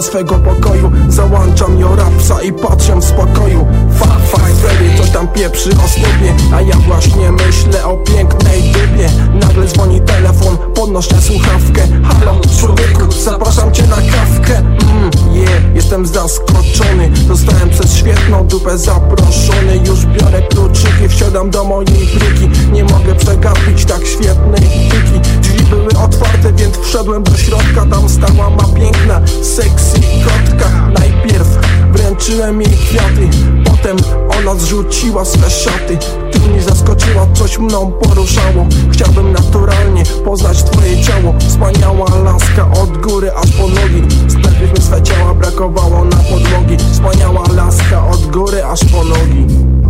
swego pokoju. Załączam jo rapsa i patrzę w spokoju. Fuck, fuck, Freddy, coś tam pieprzy o snupie, a ja właśnie myślę o pięknej dupie. Nagle dzwoni telefon, podnoszę słuchawkę. Halo, człowieku, zapraszam cię na kawkę. Mmm, yeah, jestem zaskoczony. Zostałem przez świetną dupę zaproszony. Już biorę kluczyki, wsiadam do mojej bryki. Nie mogę przegapić tak świetnej piki. Drzwi były otwarte, więc wszedłem do środka. Tam stała ma piękna, sexy kotka. Najpierw wręczyłem jej kwiaty, potem ona zrzuciła swe szaty. Ty mnie zaskoczyła, coś mną poruszało. Chciałbym naturalnie poznać twoje ciało. Wspaniała laska od góry aż po nogi. Sprawiliśmy swe ciała, brakowało na podłogi. Wspaniała laska od góry aż po nogi.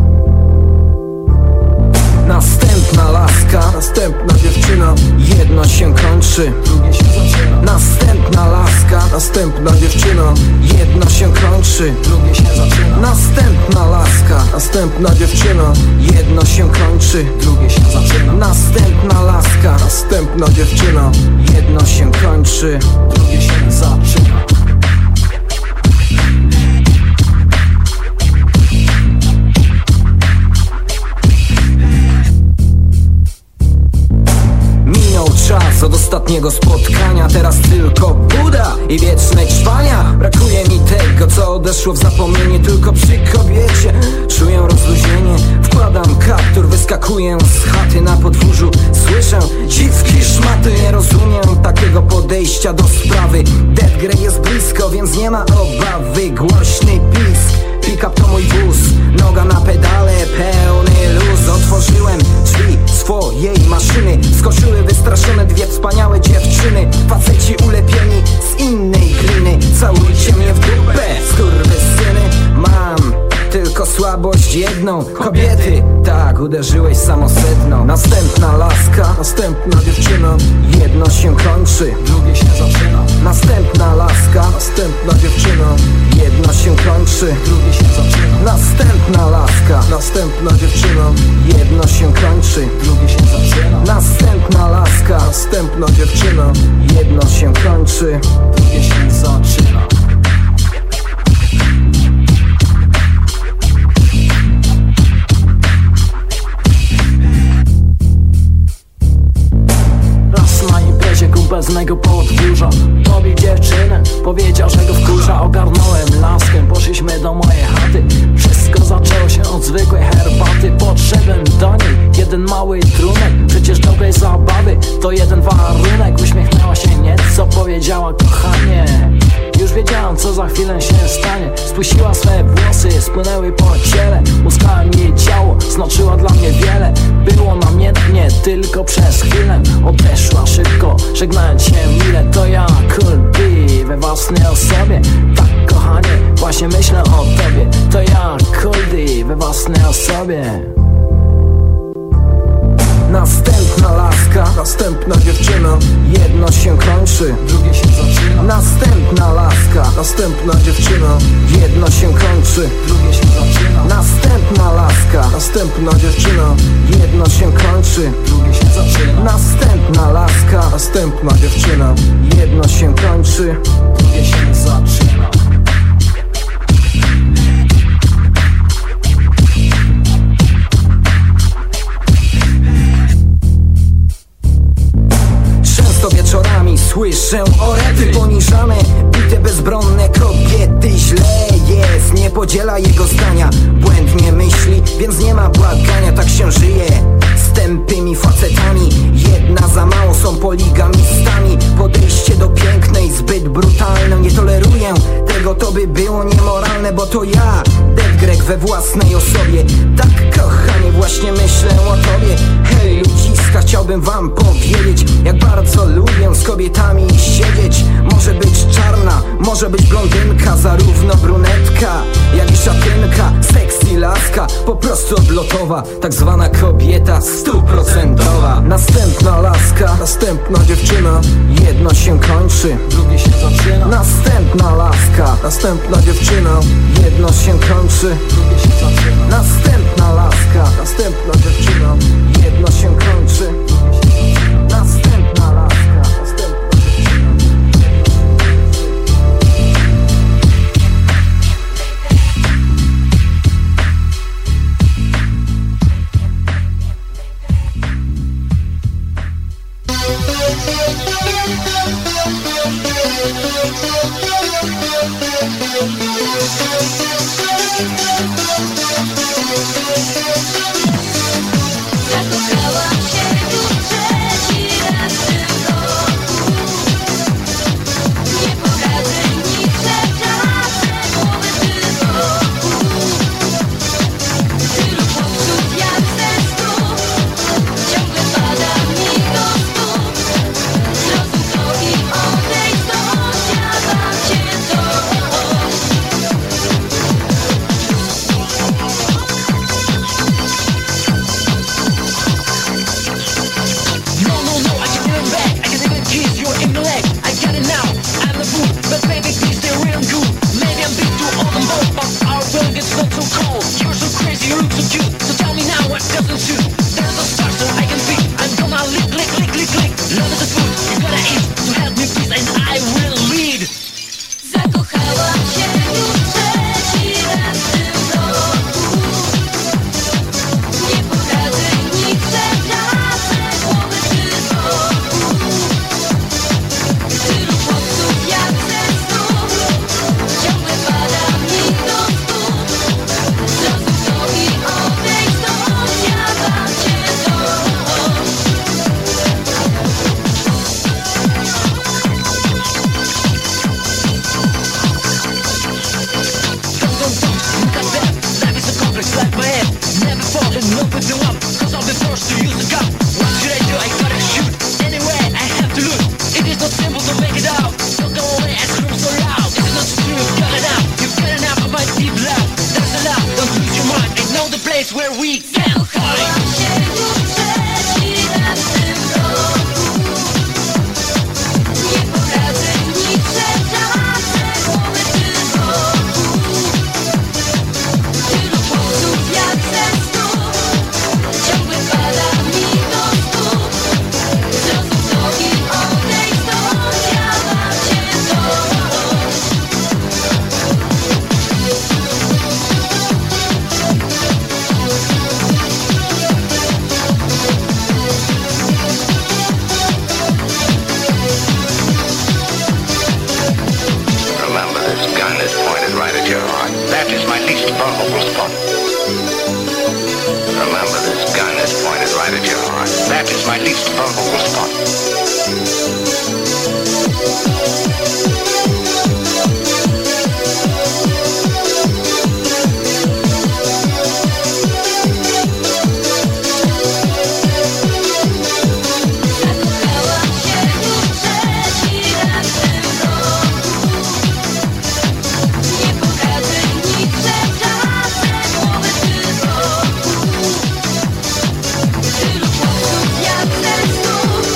Następna laska, następna dziewczyna. jedno się kończy, drugie się zaczyna. Następna laska, następna dziewczyna. jedno się kończy, drugie się zaczyna. Następna laska, następna dziewczyna. jedno się kończy, drugie się zaczyna. Następna laska, następna dziewczyna. jedno się kończy, drugie się zaczyna. Czas od ostatniego spotkania, teraz tylko Buda i wieczne trwania. Brakuje mi tego, co odeszło w zapomnienie. Tylko przy kobiecie czuję rozluźnienie. Wkładam kaptur, wyskakuję z chaty na podwórzu. Słyszę dziwki szmaty, nie rozumiem takiego podejścia do sprawy. Dead Grey jest blisko, więc nie ma obawy. Głośny pisk, pick-up to mój wóz. Noga na pedale, pełny luz. Otworzyłem drzwi swojej maszyny. Skoczyły wystraszone dwie wspaniałe dziewczyny. Faceci ulepieni z innej gliny. Całujcie mnie w dupę, skurwysyny. Mam tylko słabość jedną. Kobiety, tak, uderzyłeś samosedną. Następna laska, następna dziewczyna. jedno się kończy, drugie się zaczyna. Następna laska, następna dziewczyna. jedno się kończy, drugie się zaczyna. Następna laska, następna dziewczyna. jedno się kończy, drugie się zaczyna. Następna laska, następna dziewczyna. jedno się kończy, drugie się zaczyna. Z mego podwórza pobił dziewczynę, powiedział, że go wkurza. Ogarnąłem laskę, poszliśmy do mojej chaty. Wszystko zaczęło się od zwykłej herbaty. Podszedłem do niej, jeden mały trunek. Przecież dobrej zabawy to jeden warunek. Uśmiechnęła się nieco, powiedziała kochanie. Już wiedziałam, co za chwilę się stanie. Spuściła swe włosy, spłynęły po ciele. Muskałem jej ciało, znaczyła dla mnie wiele. Było namiętnie, tylko przez chwilę. Odeszła szybko, żegnając się mile. To ja, Cool B, we własnej osobie. Tak kochanie, właśnie myślę o tobie. To ja, Cool D, we własnej osobie. Następna laska, następna dziewczyna. jedno się kończy, drugie się zaczyna. Następna laska, następna dziewczyna. jedno się kończy, drugie się zaczyna. Następna laska, następna dziewczyna. jedno się kończy, drugie się zaczyna. Następna laska, następna dziewczyna. jedno się kończy, drugie się zaczyna. Wieczorami słyszę orety poniżane, bite bezbronne kobiety. Źle jest, nie podziela jego zdania. Błędnie myśli, więc nie ma błagania. Tak się żyje z tępymi facetami. Jedna za mało, są poligamistami. Podejście do pięknej zbyt brutalne. Nie toleruję tego, to by było niemoralne. Bo to ja, Dead Greg we własnej osobie. Tak kochanie, właśnie myślę o tobie. Hej ludziska, chciałbym wam powiedzieć, jak bardzo lubię z kobietami siedzieć. Może być czarna, może być blondynka, zarówno brunetka, jak i szatynka. Sexy laska, po prostu odlotowa, tak zwana kobieta stuprocentowa. Następna laska, następna dziewczyna. jedno się kończy, drugie się zaczyna. Następna laska, następna dziewczyna. jedno się kończy, drugie się zaczyna. Następna laska, następna dziewczyna. jedno się kończy, następna laska, następna dziewczyna. place where we can Tylu chłopców jak ten stół.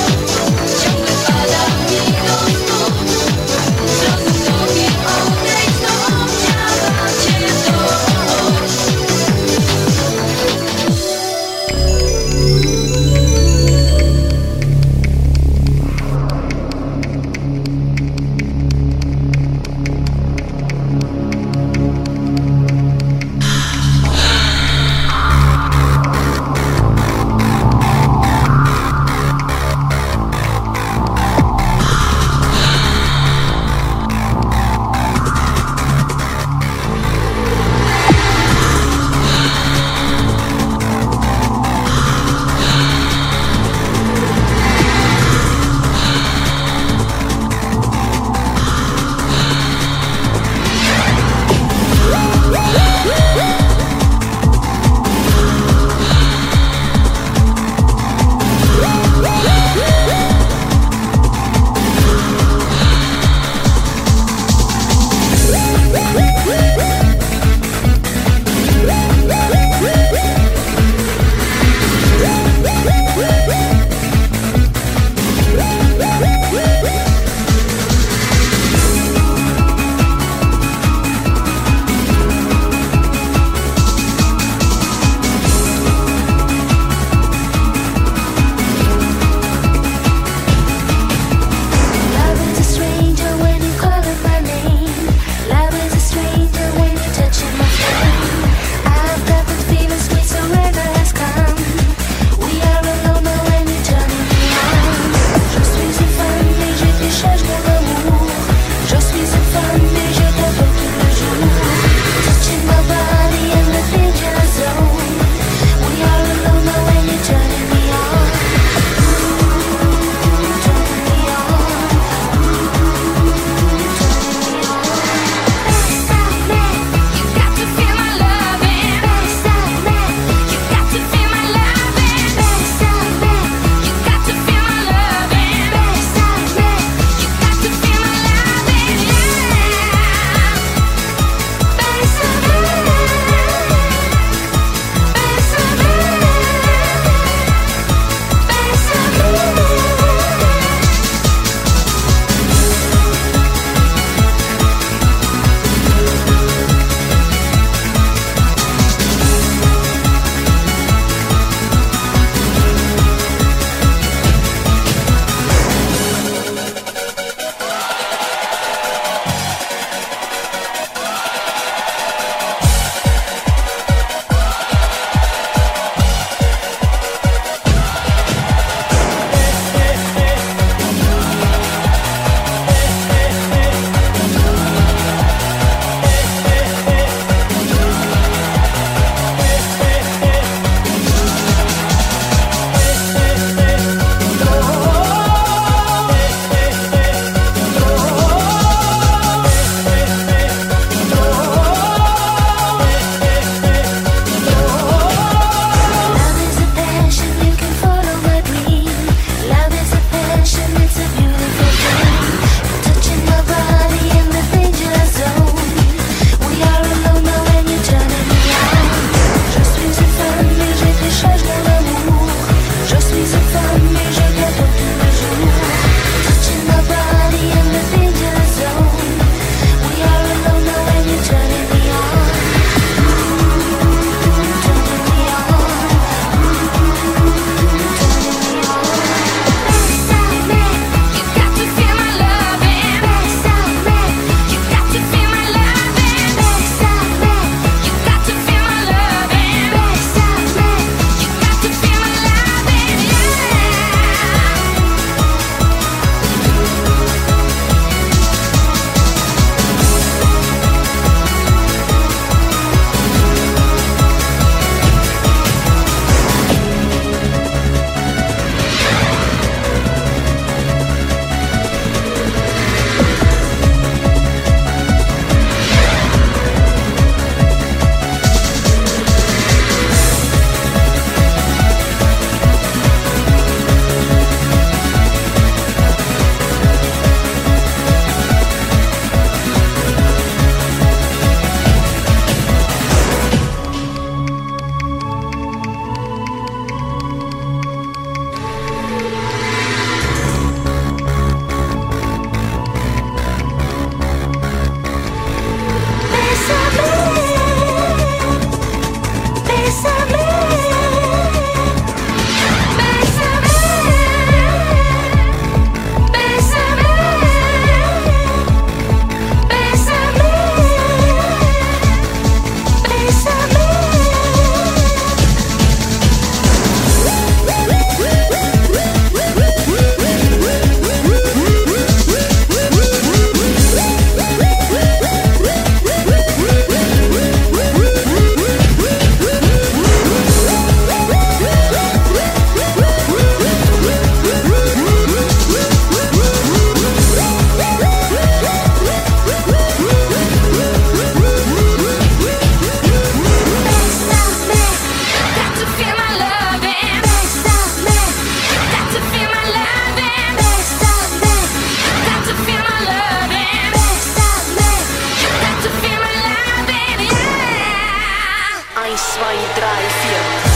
Masz swoje drei firmy.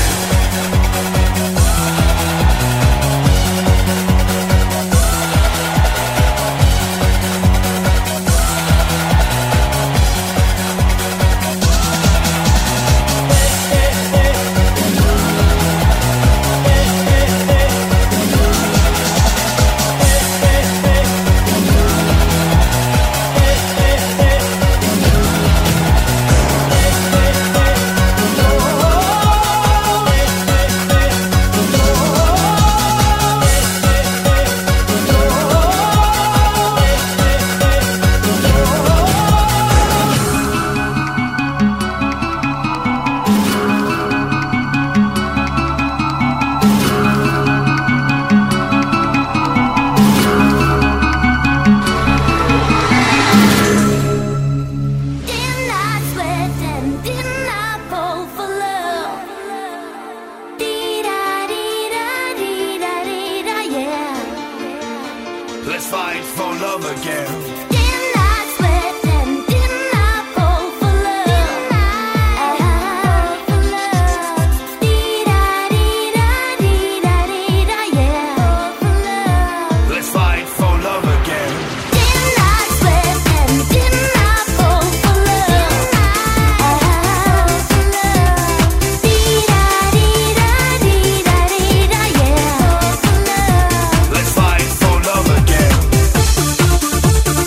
Let's fight for love again. Let's fight for love again.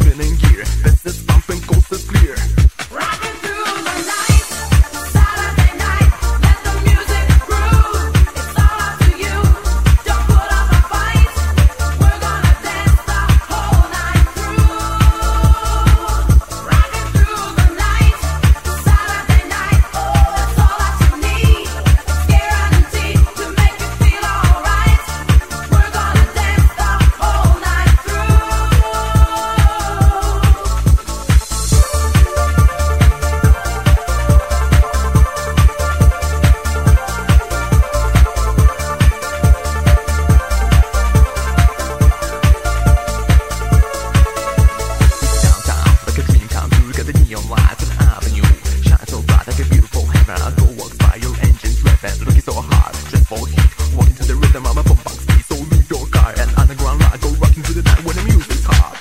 spinning gear. This is pumping, coast is clear. Rocking through the night, Saturday night, let the music groove. It's all up to you. Don't put up a fight. We're gonna dance the whole night through. Rocking through the night, Saturday night, that's all that you need. It's guaranteed to make you feel alright. We're gonna dance the whole night through. Downtown, like a dream come true. Got the neon lights on avenue. Shine so bright like a beautiful heaven. I go walks by your engines revving, looking so hard, just for heat. Walking to the rhythm of a boom box beat. So leave your car and underground ride. Go rocking through the night when the music's hot.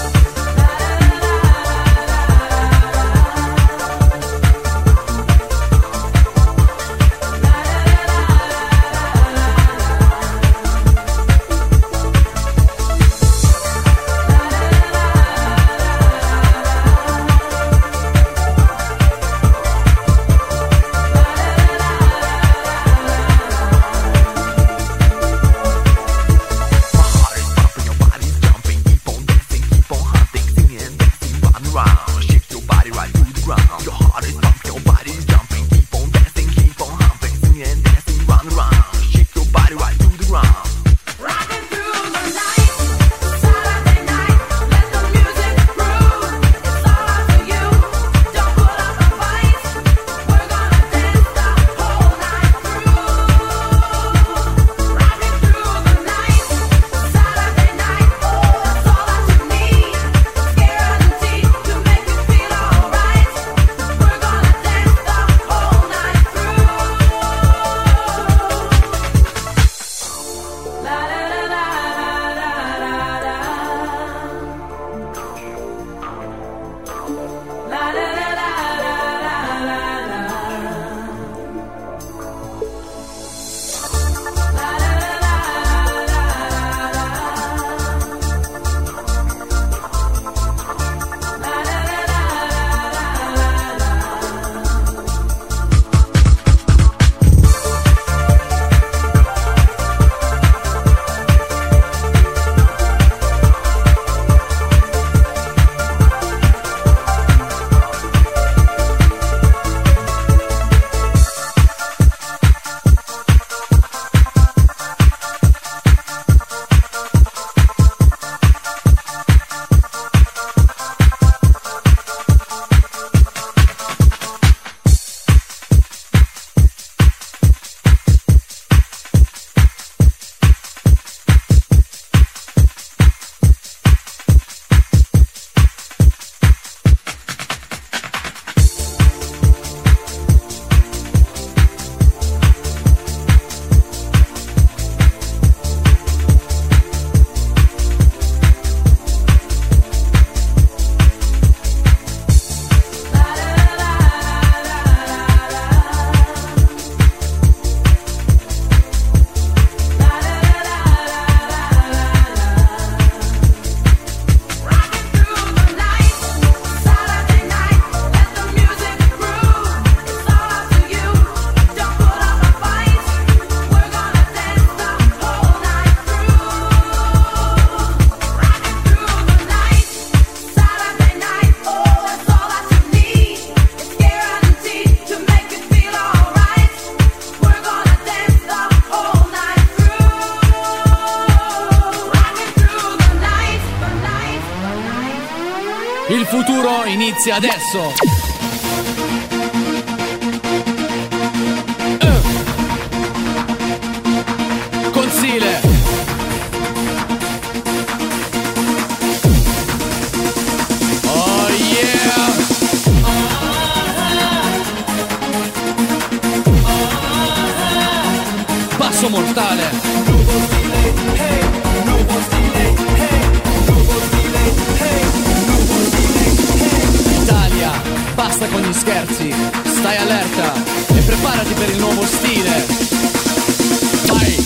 Il futuro inizia adesso. Uh. Consile. Oh yeah. Passo mortale. Italia, basta con gli scherzi, stai allerta e preparati per il nuovo stile. Vai!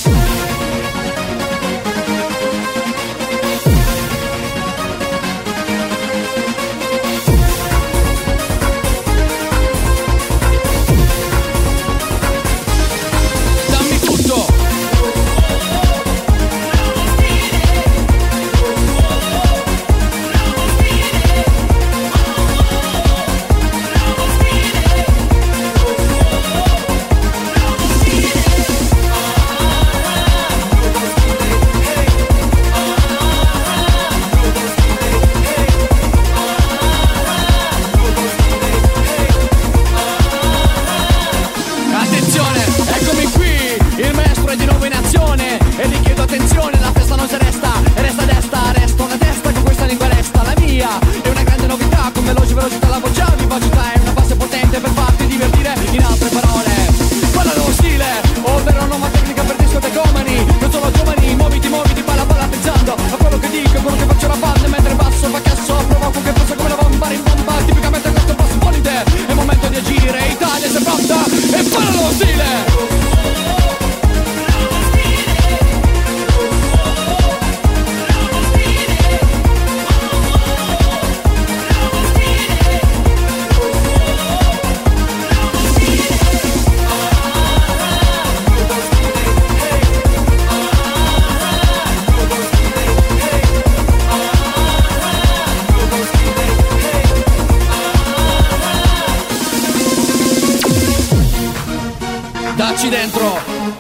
dentro.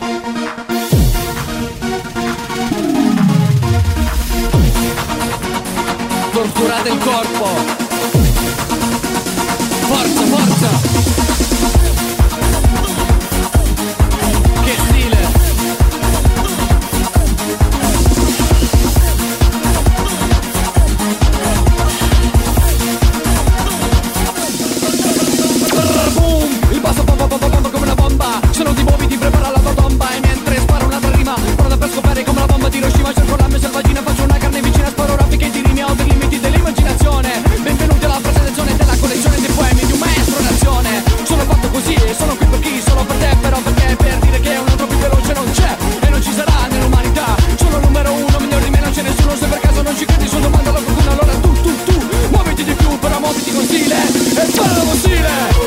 Torturate il corpo. Forza, forza. Che stile. Boom, il basso bomba bomba bomba come una bomba. Se non ti muovi ti prepara la tua tomba. E mentre sparo un'altra rima, pronta per scopare come la bomba di Hiroshima. Cerco la mia selvagina, faccio una carne vicina. Sparo raffiche di rimi oltre i limiti dell'immaginazione. Benvenuti alla presentazione della collezione dei poemi di un maestro nazione. Sono fatto così e sono qui per chi? Solo per te, però perché? Per dire che un altro più veloce non c'è e non ci sarà nell'umanità. Sono il numero uno, migliore di me non c'è nessuno. Se per caso non ci credi, sono domanda a qualcuno. Allora tu, tu, tu, muoviti di più, però muoviti con stile e fai lo stile.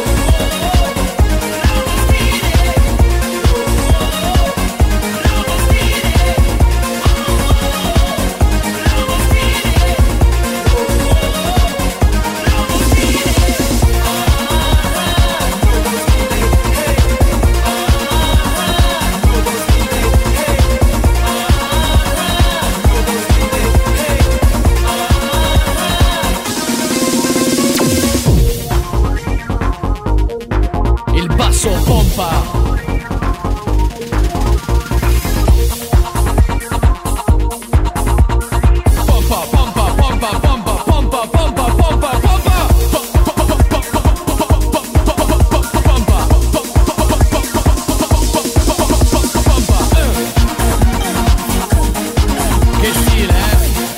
Pompa. Pompa, pompa, pompa, pompa, pompa, pompa, pompa, pompa. Che stile, eh?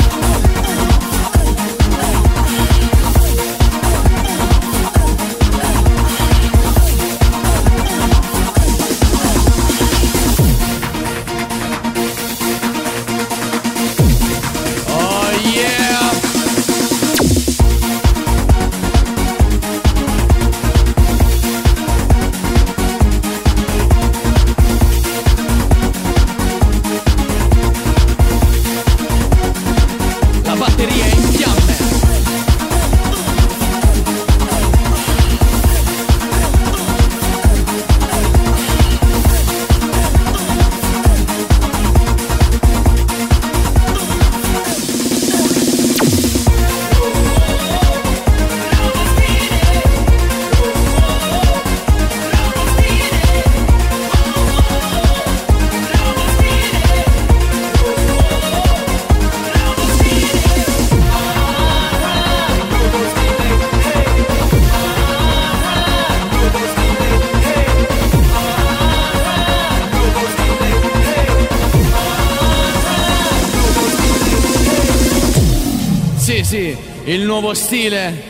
Sì, sì, il nuovo stile.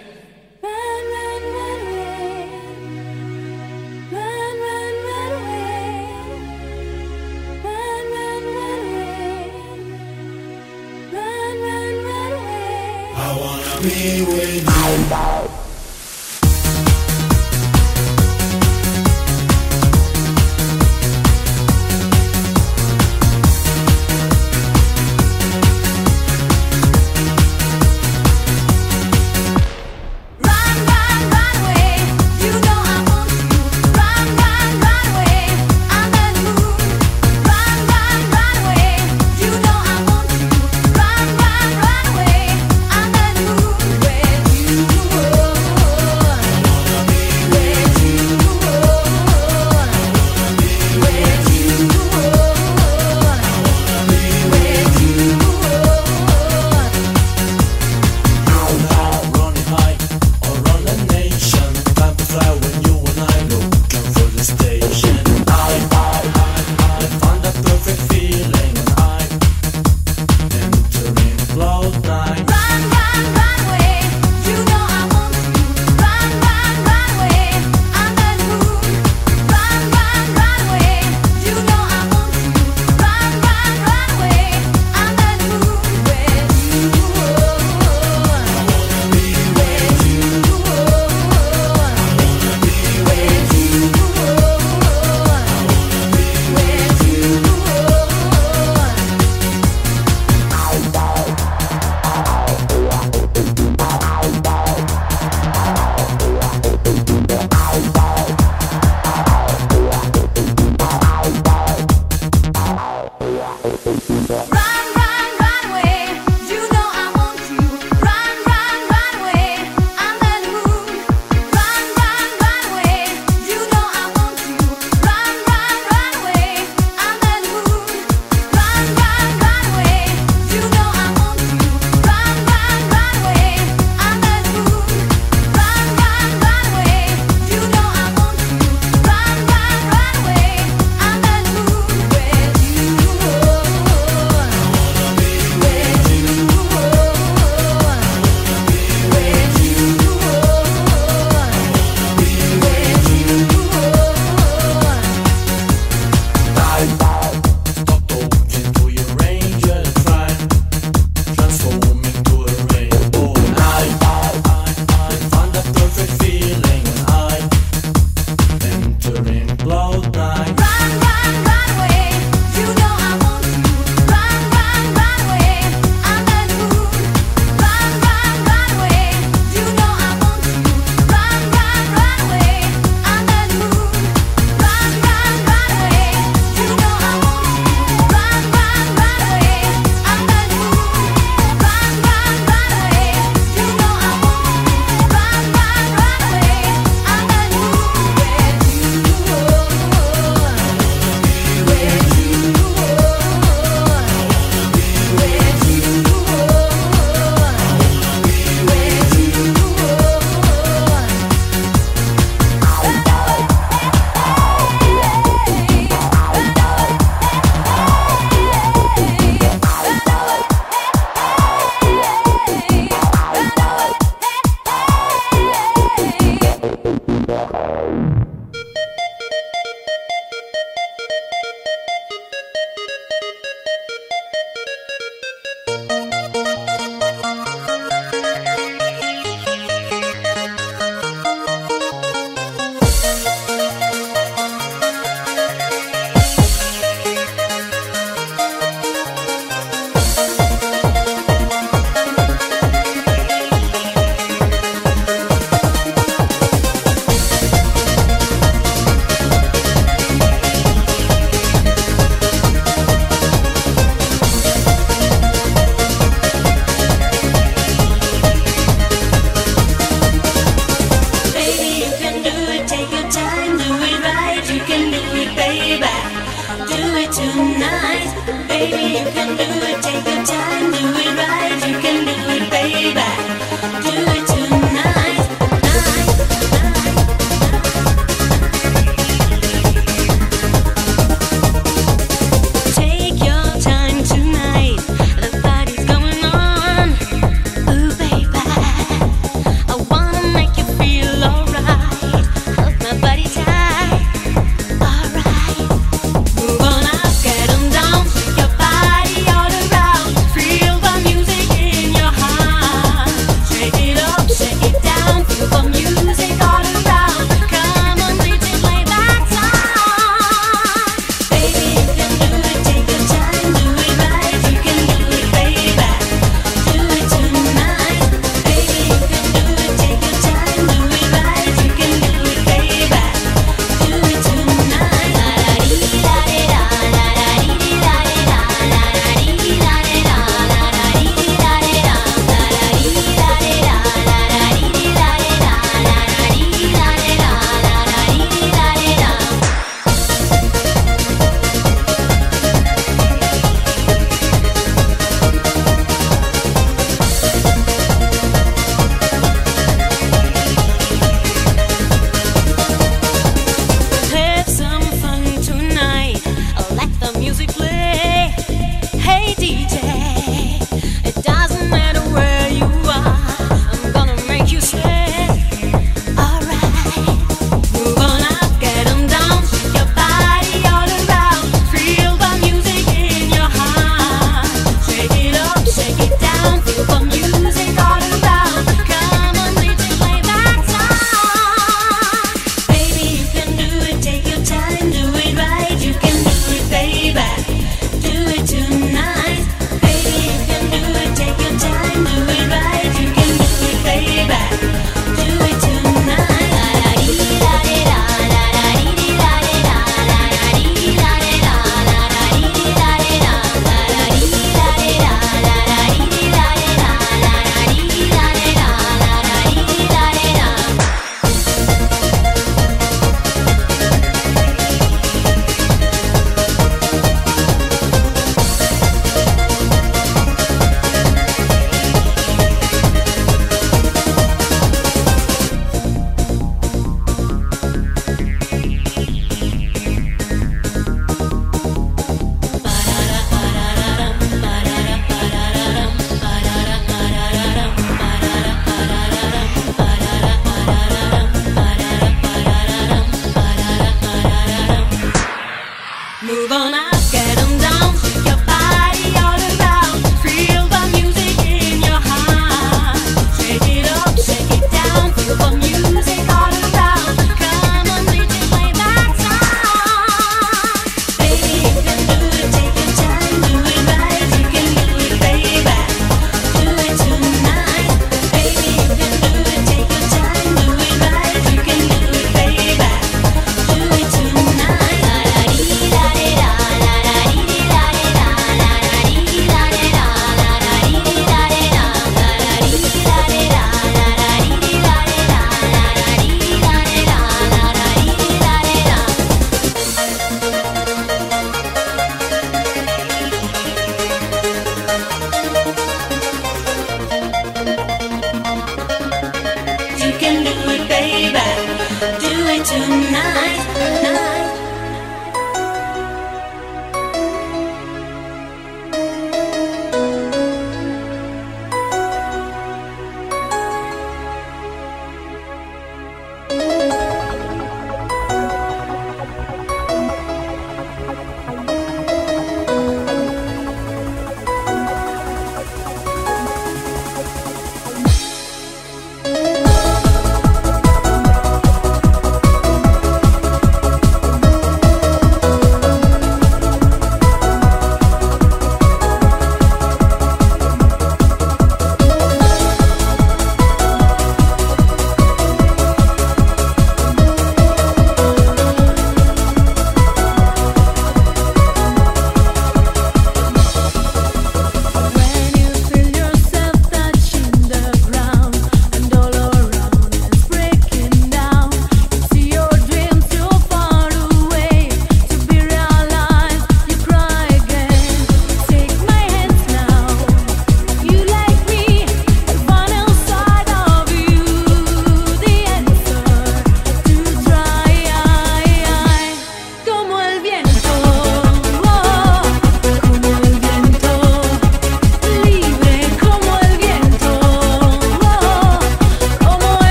I wanna be with you. Run, run, run away under the moon.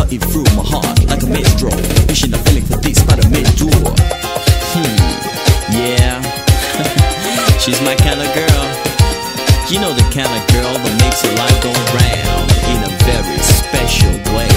cutting through my heart like a metro. Wishing a feeling for this by the mid-door. Hmm, yeah. She's my kind of girl. You know the kind of girl that makes your life go round in a very special way.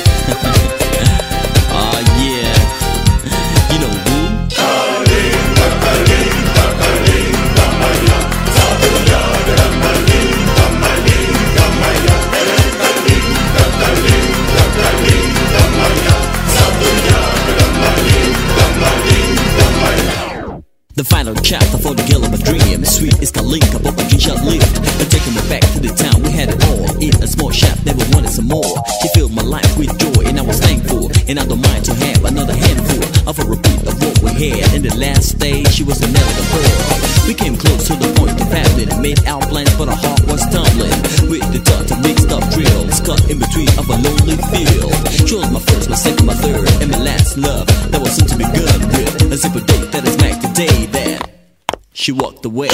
Oh yeah. You know who? Kalinda, Kalinda, Kalinda Maya. Sabuyaga Malinda, Malinda Maya. Kalinda, Kalinda, Kalinda Maya. Sabuyaga Malinda, Malinda Maya. The final chapter for the girl of my dream. Sweet is Kalinka, but my dream shall live. And taking me back to the town, we had it all. In a small shop, never wanted some more. He filled my life with joy, and I was thankful. And I don't mind to have another handful of a repeat of what we had. In the last stage, she was an elder pearl. We came close to the point of family and made our plans, but our heart was tumbling. With the touch of mixed up drills, caught in between of a lonely field. She was my first, my second, my third, and my last love that was soon to be good with. A simple date that is back today that she walked away.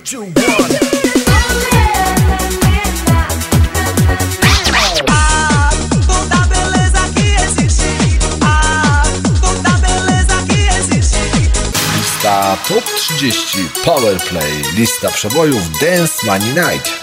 two, one. Ah, toda beleza que existe. Ah, toda beleza que existe. Lista Top trzydzieści Powerplay. Lista przebojów Dance Money Night.